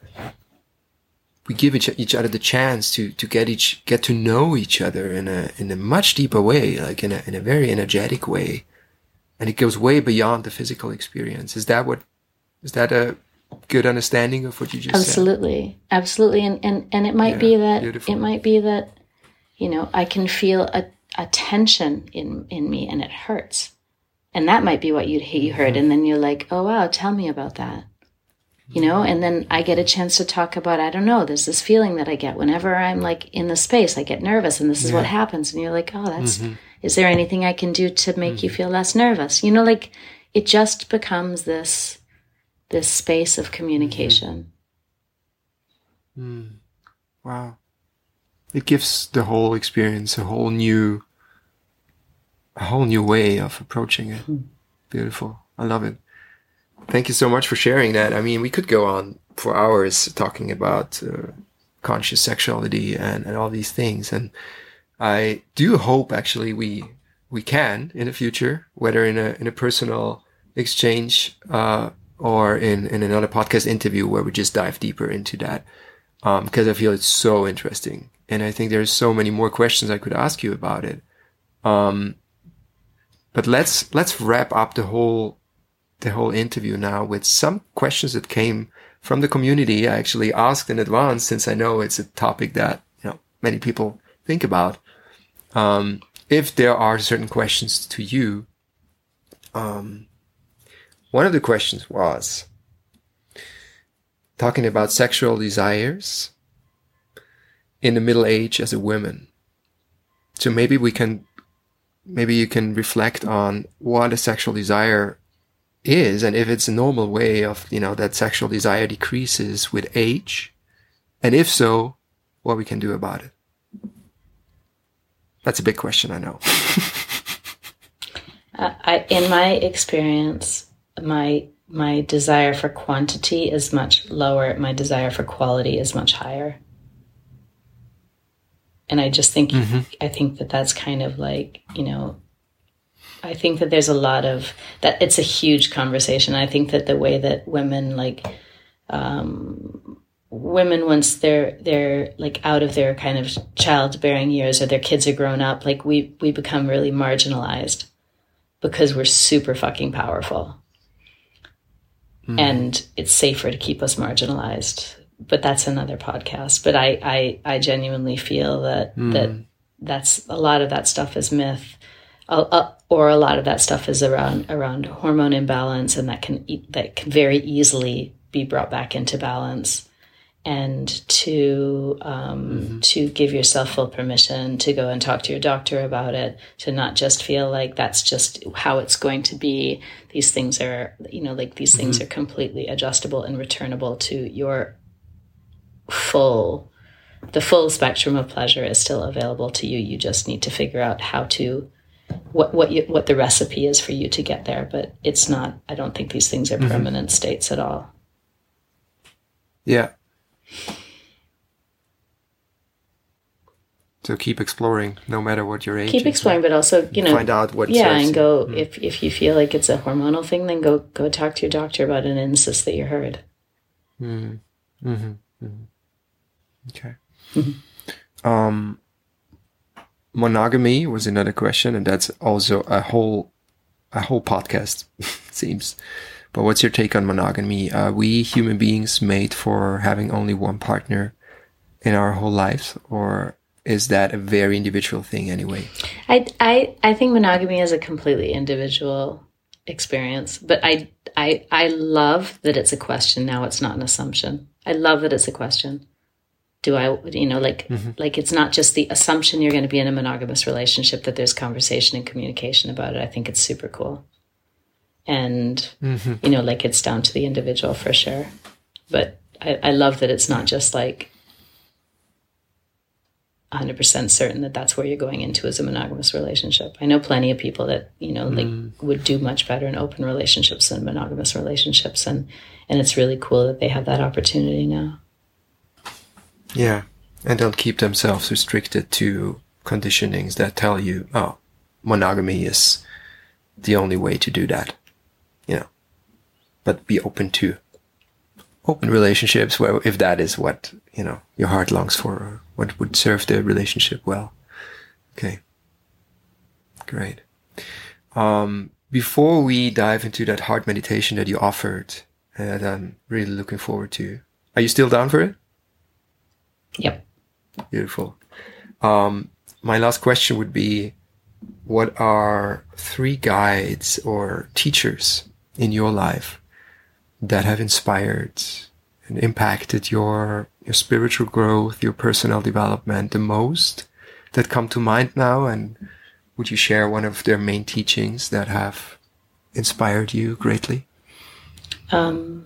Speaker 1: we give each, each other the chance to, to get each, get to know each other in a, in a much deeper way, like in a, in a very energetic way. And it goes way beyond the physical experience. Is that what, is that a good understanding of what you just
Speaker 2: Absolutely.
Speaker 1: said?
Speaker 2: Absolutely. Absolutely. And, and, and it might yeah, be that,
Speaker 1: beautiful.
Speaker 2: it might be that, you know, I can feel a, a tension in, in me, and it hurts. And that might be what you you heard. Mm-hmm. And then you're like, oh, wow, tell me about that. You know, and then I get a chance to talk about, I don't know, there's this feeling that I get whenever I'm like in the space, I get nervous, and this is yeah. what happens. And you're like, oh, that's, mm-hmm. is there anything I can do to make mm-hmm. you feel less nervous? You know, like it just becomes this, this space of communication.
Speaker 1: Mm-hmm. Mm. Wow. It gives the whole experience a whole new, a whole new way of approaching it. Mm-hmm. Beautiful. I love it. Thank you so much for sharing that. I mean, we could go on for hours talking about uh, conscious sexuality and, and all these things. And I do hope actually we we can in the future, whether in a in a personal exchange uh, or in, in another podcast interview where we just dive deeper into that. Um, because I feel it's so interesting. And I think there's so many more questions I could ask you about it. Um, but let's let's wrap up the whole the whole interview now with some questions that came from the community. I actually asked in advance, since I know it's a topic that, you know, many people think about. Um, if there are certain questions to you, um, one of the questions was talking about sexual desires in the middle age as a woman. So maybe we can, maybe you can reflect on what a sexual desire is, and if it's a normal way of, you know, that sexual desire decreases with age, and if so, what we can do about it. That's a big question, I know.
Speaker 2: uh, I, in my experience, my my desire for quantity is much lower. My desire for quality is much higher. And I just think, mm-hmm. I think that that's kind of like, you know, I think that there's a lot of that. It's a huge conversation. I think that the way that women like, um, women, once they're, they're like out of their kind of childbearing years, or their kids are grown up, like we, we become really marginalized because we're super fucking powerful. Mm. And it's safer to keep us marginalized, but that's another podcast. But I, I, I genuinely feel that, mm. that that's a lot of that stuff is myth. uh, or a lot of that stuff is around around hormone imbalance, and that can that can very easily be brought back into balance. And to um, mm-hmm. to give yourself full permission to go and talk to your doctor about it, to not just feel like that's just how it's going to be. These things are, you know, like these mm-hmm. things are completely adjustable and returnable to your full, the full spectrum of pleasure is still available to you. You just need to figure out how to, what what you, what the recipe is for you to get there. But it's not, I don't think these things are mm-hmm. permanent states at all.
Speaker 1: Yeah. So keep exploring, no matter what your age.
Speaker 2: Keep exploring, but also, you know,
Speaker 1: find out what.
Speaker 2: Yeah,
Speaker 1: serves
Speaker 2: and go
Speaker 1: you.
Speaker 2: if if you feel like it's a hormonal thing, then go go talk to your doctor about it and insist that you're heard.
Speaker 1: Mm-hmm. Mm-hmm. Mm-hmm. Okay. Mm-hmm. Um, monogamy was another question, and that's also a whole a whole podcast, it seems. But what's your take on monogamy? Are we human beings made for having only one partner in our whole lives, or is that a very individual thing anyway?
Speaker 2: I, I, I think monogamy is a completely individual experience, but I, I, I love that it's a question now. It's not an assumption. I love that it's a question. Do I, you know, like, mm-hmm. like it's not just the assumption you're going to be in a monogamous relationship, that there's conversation and communication about it. I think it's super cool. And, mm-hmm. you know, like it's down to the individual for sure. But I, I love that it's not just like one hundred percent certain that that's where you're going into as a monogamous relationship. I know plenty of people that, you know, like mm. would do much better in open relationships than monogamous relationships. And, and it's really cool that they have that opportunity now.
Speaker 1: Yeah. And don't keep themselves restricted to conditionings that tell you, oh, monogamy is the only way to do that. You know, but be open to open relationships where, if that is what, you know, your heart longs for, or what would serve the relationship well. Okay. Great. Um, before we dive into that heart meditation that you offered, uh, that I'm really looking forward to, are you still down for it?
Speaker 2: Yep.
Speaker 1: Beautiful. Um, my last question would be, what are three guides or teachers in your life that have inspired and impacted your your spiritual growth, your personal development the most, that come to mind now? And would you share one of their main teachings that have inspired you greatly?
Speaker 2: Um,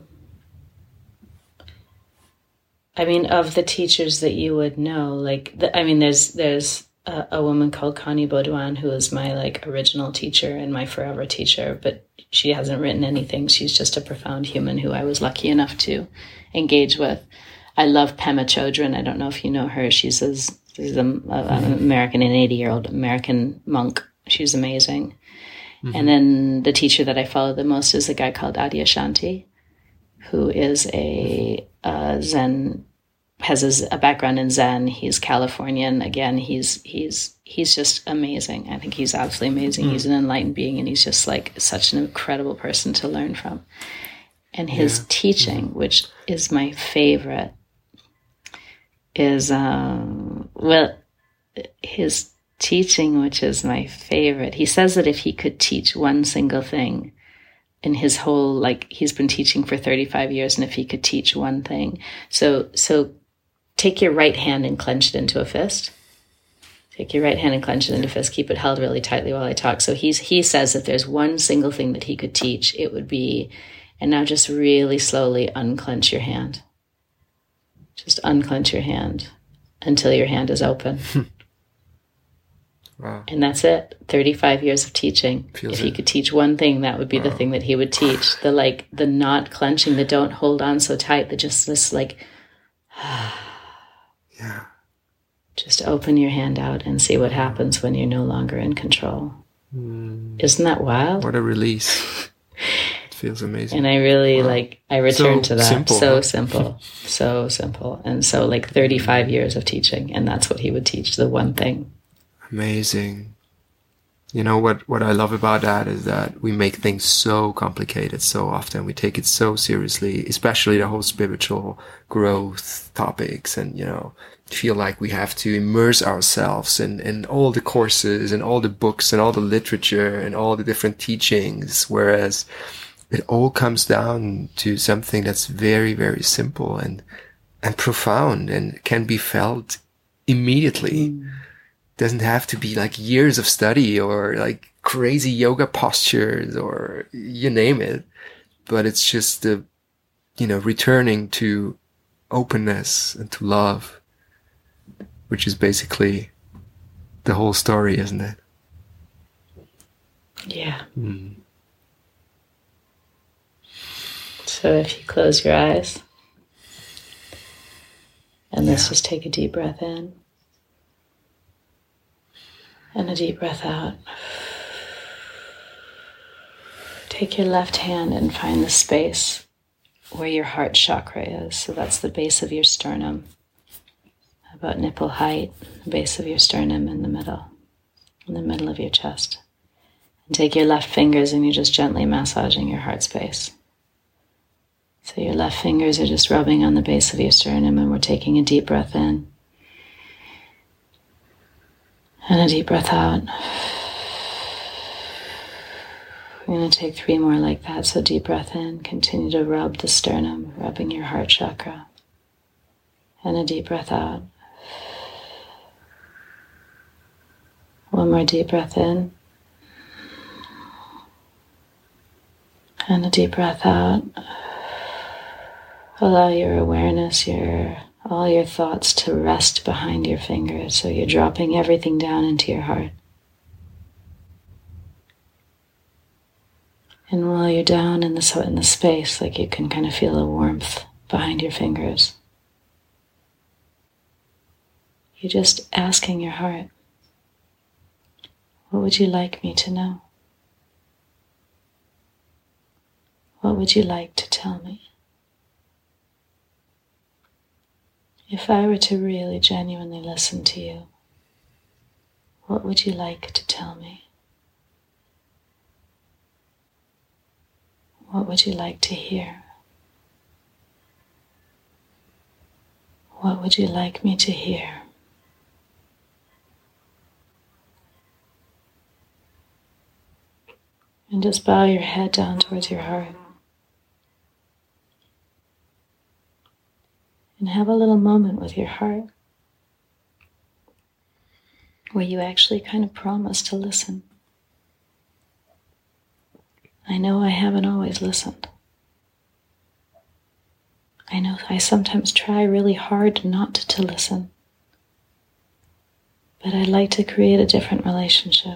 Speaker 2: I mean, of the teachers that you would know, like, the, I mean, there's there's a, a woman called Connie Baudouin, who is my like original teacher and my forever teacher, but she hasn't written anything. She's just a profound human who I was lucky enough to engage with. I love Pema Chodron. I don't know if you know her. She's, a, she's a, an American, an eighty-year-old American monk. She's amazing. Mm-hmm. And then the teacher that I follow the most is a guy called Adyashanti, who is a, a Zen, has a, a background in Zen. He's Californian. Again, he's he's he's just amazing. I think he's absolutely amazing. Mm. He's an enlightened being, and he's just like such an incredible person to learn from. And his yeah. teaching, mm. which is my favorite, is, um, well, his teaching, which is my favorite, he says that if he could teach one single thing in his whole, like, he's been teaching for thirty-five years, and if he could teach one thing. So, so take your right hand and clench it into a fist. Take your right hand and clench it into a fist. Keep it held really tightly while I talk. So he's, he says that there's one single thing that he could teach, it would be, and now just really slowly unclench your hand. Just unclench your hand until your hand is open. Wow. And that's it. thirty-five years of teaching. Feels if he it. could teach one thing, that would be wow. the thing that he would teach. The like, the not clenching, the don't hold on so tight, the just this like, yeah. Just open your hand out and see what happens when you're no longer in control. Mm. Isn't that wild?
Speaker 1: What a release. It feels amazing.
Speaker 2: And I really wow. like, I return
Speaker 1: so
Speaker 2: to that.
Speaker 1: Simple,
Speaker 2: so
Speaker 1: huh?
Speaker 2: simple. So simple. And so like thirty-five years of teaching, and that's what he would teach, the one thing.
Speaker 1: Amazing. You know, what, what I love about that is that we make things so complicated so often. We take it so seriously, especially the whole spiritual growth topics, and, you know, feel like we have to immerse ourselves in, in all the courses and all the books and all the literature and all the different teachings. Whereas it all comes down to something that's very, very simple and, and profound and can be felt immediately. Mm. Doesn't have to be like years of study or like crazy yoga postures or you name it, but it's just the, you know, returning to openness and to love, which is basically the whole story, isn't it?
Speaker 2: Yeah.
Speaker 1: Mm.
Speaker 2: So if you close your eyes, and let's yeah. just take a deep breath in. And a deep breath out. Take your left hand and find the space where your heart chakra is. So that's the base of your sternum, about nipple height, the base of your sternum in the middle, in the middle of your chest. And take your left fingers and you're just gently massaging your heart space. So your left fingers are just rubbing on the base of your sternum, and we're taking a deep breath in. And a deep breath out. We're going to take three more like that. So deep breath in. Continue to rub the sternum, rubbing your heart chakra. And a deep breath out. One more deep breath in. And a deep breath out. Allow your awareness, your all your thoughts to rest behind your fingers, so you're dropping everything down into your heart. And while you're down in the, in the space, like you can kind of feel a warmth behind your fingers, you're just asking your heart, what would you like me to know? What would you like to tell me? If I were to really genuinely listen to you, what would you like to tell me? What would you like to hear? What would you like me to hear? And just bow your head down towards your heart. And have a little moment with your heart where you actually kind of promise to listen. I know I haven't always listened. I know I sometimes try really hard not to listen. But I'd like to create a different relationship.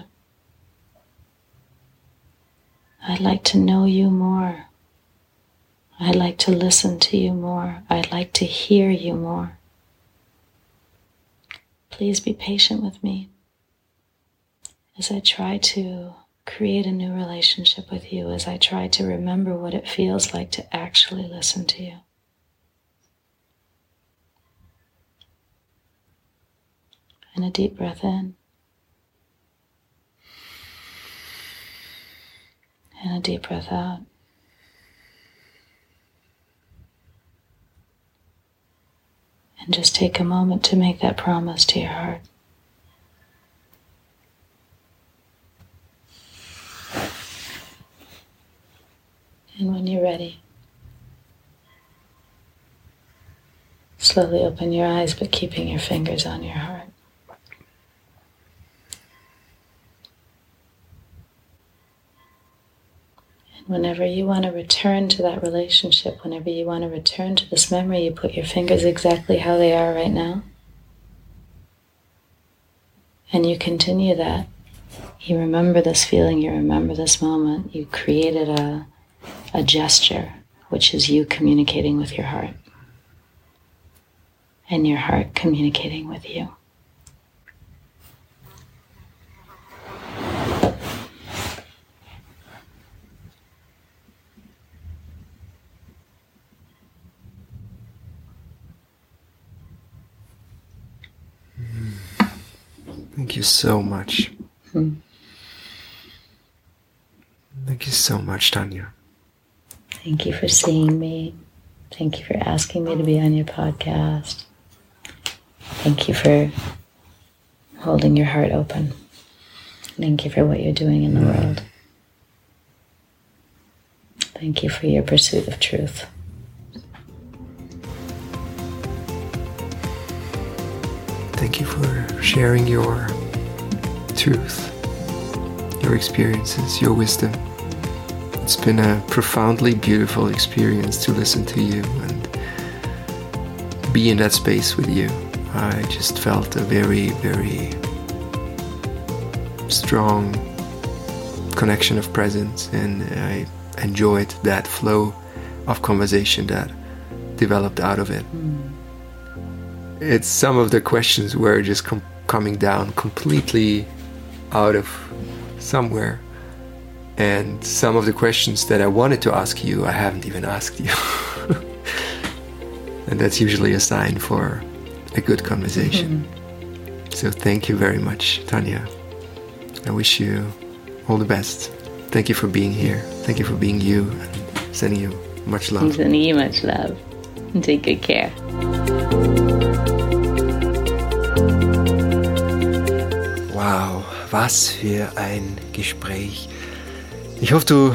Speaker 2: I'd like to know you more. I'd like to listen to you more. I'd like to hear you more. Please be patient with me as I try to create a new relationship with you, as I try to remember what it feels like to actually listen to you. And a deep breath in. And a deep breath out. And just take a moment to make that promise to your heart. And when you're ready, slowly open your eyes, but keeping your fingers on your heart. And whenever you want to return to that relationship, whenever you want to return to this memory, you put your fingers exactly how they are right now. And you continue that. You remember this feeling, you remember this moment. You created a, a gesture, which is you communicating with your heart. And your heart communicating with you.
Speaker 1: Thank you so much.
Speaker 2: Hmm.
Speaker 1: Thank you so much, Tanya.
Speaker 2: Thank you for seeing me. Thank you for asking me to be on your podcast. Thank you for holding your heart open. Thank you for what you're doing in the mm. world. Thank you for your pursuit of truth.
Speaker 1: Thank you for sharing your truth, your experiences, your wisdom. It's been a profoundly beautiful experience to listen to you and be in that space with you. I just felt a very, very strong connection of presence, and I enjoyed that flow of conversation that developed out of it. Mm. It's some of the questions were just com- coming down completely out of somewhere, and some of the questions that I wanted to ask you, I haven't even asked you. And that's usually a sign for a good conversation. Mm-hmm. So thank you very much, Tanya. I wish you all the best. Thank you for being here. Thank you for being you, and sending you much love.
Speaker 2: I'm sending you much love. And take good care.
Speaker 1: Wow, was für ein Gespräch. Ich hoffe, du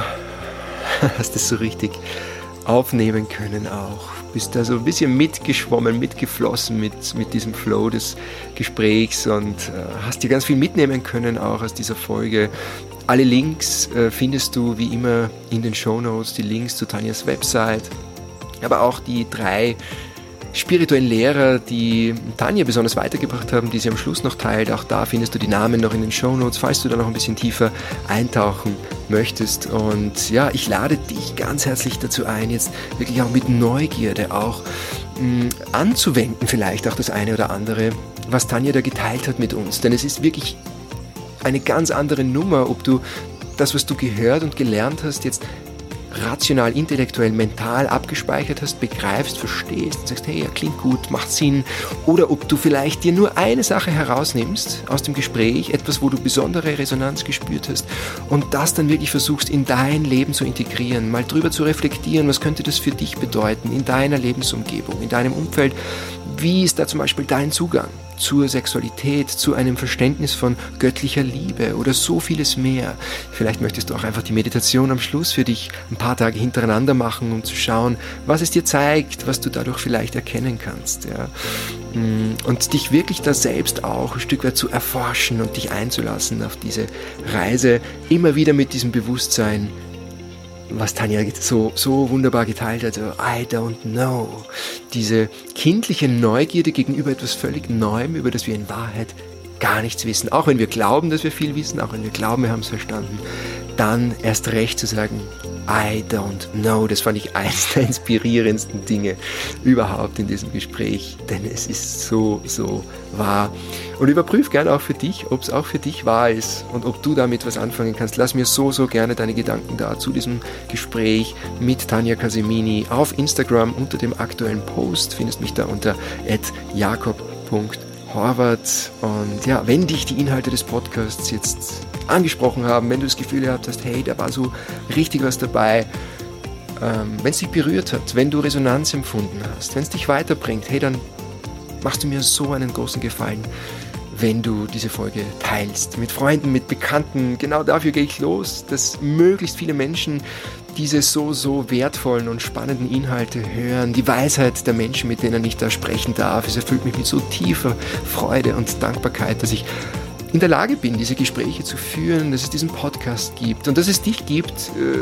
Speaker 1: hast es so richtig aufnehmen können auch. Bist da so ein bisschen mitgeschwommen, mitgeflossen mit, mit diesem Flow des Gesprächs und äh, hast dir ganz viel mitnehmen können auch aus dieser Folge. Alle Links äh, findest du wie immer in den Shownotes, die Links zu Tanjas Website, aber auch die drei spirituellen Lehrer, die Tanja besonders weitergebracht haben, die sie am Schluss noch teilt. Auch da findest du die Namen noch in den Shownotes, falls du da noch ein bisschen tiefer eintauchen möchtest. Und ja, ich lade dich ganz herzlich dazu ein, jetzt wirklich auch mit Neugierde auch mh, anzuwenden, vielleicht auch das eine oder andere, was Tanja da geteilt hat mit uns. Denn es ist wirklich eine ganz andere Nummer, ob du das, was du gehört und gelernt hast, jetzt rational, intellektuell, mental abgespeichert hast, begreifst, verstehst und sagst, hey, ja, klingt gut, macht Sinn. Oder ob du vielleicht dir nur eine Sache herausnimmst aus dem Gespräch, etwas, wo du besondere Resonanz gespürt hast und das dann wirklich versuchst, in dein Leben zu integrieren, mal drüber zu reflektieren, was könnte das für dich bedeuten, in deiner Lebensumgebung, in deinem Umfeld. Wie ist da zum Beispiel dein Zugang zur Sexualität, zu einem Verständnis von göttlicher Liebe oder so vieles mehr. Vielleicht möchtest du auch einfach die Meditation am Schluss für dich ein paar Tage hintereinander machen, um zu schauen, was es dir zeigt, was du dadurch vielleicht erkennen kannst. Ja. Und dich wirklich da selbst auch ein Stück weit zu erforschen und dich einzulassen auf diese Reise, immer wieder mit diesem Bewusstsein, was Tanja so, so wunderbar geteilt hat, so, I don't know. Diese kindliche Neugierde gegenüber etwas völlig Neuem, über das wir in Wahrheit gar nichts wissen. Auch wenn wir glauben, dass wir viel wissen, auch wenn wir glauben, wir haben es verstanden, dann erst recht zu sagen, I don't know. Das fand ich eins der inspirierendsten Dinge überhaupt in diesem Gespräch, denn es ist so, so wahr. Und überprüf gerne auch für dich, ob es auch für dich wahr ist und ob du damit was anfangen kannst. Lass mir so, so gerne deine Gedanken da zu diesem Gespräch mit Tanja Casemini auf Instagram unter dem aktuellen Post. Findest mich da unter at jakob punkt horvath. Und ja, wenn dich die Inhalte des Podcasts jetzt angesprochen haben, wenn du das Gefühl gehabt hast, hey, da war so richtig was dabei, ähm, wenn es dich berührt hat, wenn du Resonanz empfunden hast, wenn es dich weiterbringt, hey, dann machst du mir so einen großen Gefallen, wenn du diese Folge teilst, mit Freunden, mit Bekannten. Genau dafür gehe ich los, dass möglichst viele Menschen diese so, so wertvollen und spannenden Inhalte hören, die Weisheit der Menschen, mit denen ich da sprechen darf. Es erfüllt mich mit so tiefer Freude und Dankbarkeit, dass ich in der Lage bin, diese Gespräche zu führen, dass es diesen Podcast gibt und dass es dich gibt,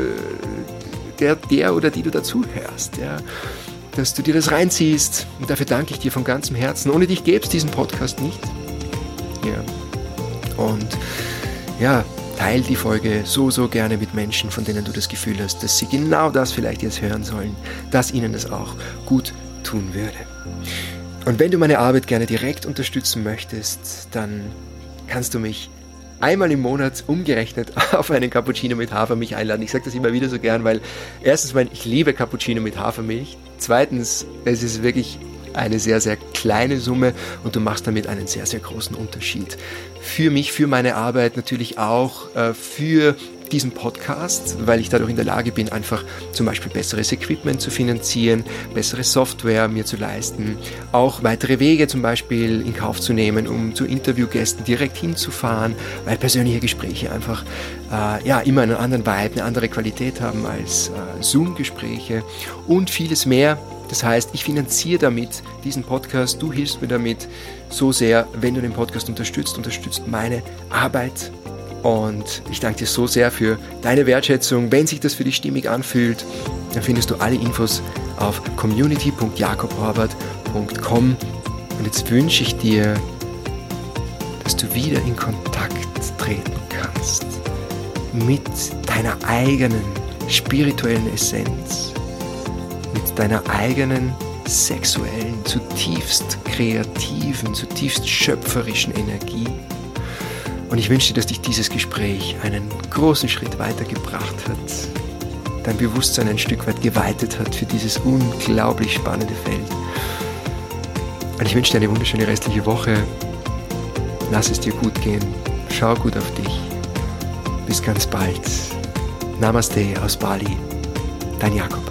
Speaker 1: der, der oder die du dazu hörst, ja, dass du dir das reinziehst. Und dafür danke ich dir von ganzem Herzen. Ohne dich gäbe es diesen Podcast nicht. Ja. Und ja, teil die Folge so, so gerne mit Menschen, von denen du das Gefühl hast, dass sie genau das vielleicht jetzt hören sollen, dass ihnen das auch gut tun würde. Und wenn du meine Arbeit gerne direkt unterstützen möchtest, dann kannst du mich einmal im Monat umgerechnet auf einen Cappuccino mit Hafermilch einladen. Ich sage das immer wieder so gern, weil erstens mal, ich liebe Cappuccino mit Hafermilch. Zweitens, es ist wirklich eine sehr, sehr kleine Summe und du machst damit einen sehr, sehr großen Unterschied. Für mich, für meine Arbeit, natürlich auch äh, für diesen Podcast, weil ich dadurch in der Lage bin, einfach zum Beispiel besseres Equipment zu finanzieren, bessere Software mir zu leisten, auch weitere Wege zum Beispiel in Kauf zu nehmen, um zu Interviewgästen direkt hinzufahren, weil persönliche Gespräche einfach äh, ja, immer einen anderen Vibe, eine andere Qualität haben als äh, Zoom-Gespräche und vieles mehr. Das heißt, ich finanziere damit diesen Podcast, du hilfst mir damit so sehr, wenn du den Podcast unterstützt, unterstützt meine Arbeit. Und ich danke dir so sehr für deine Wertschätzung. Wenn sich das für dich stimmig anfühlt, dann findest du alle Infos auf community punkt jakob horvath punkt com. Und jetzt wünsche ich dir, dass du wieder in Kontakt treten kannst mit deiner eigenen spirituellen Essenz, mit deiner eigenen sexuellen, zutiefst kreativen, zutiefst schöpferischen Energie. Und ich wünsche dir, dass dich dieses Gespräch einen großen Schritt weitergebracht hat, dein Bewusstsein ein Stück weit geweitet hat für dieses unglaublich spannende Feld. Und ich wünsche dir eine wunderschöne restliche Woche. Lass es dir gut gehen. Schau gut auf dich. Bis ganz bald. Namaste aus Bali. Dein Jakob.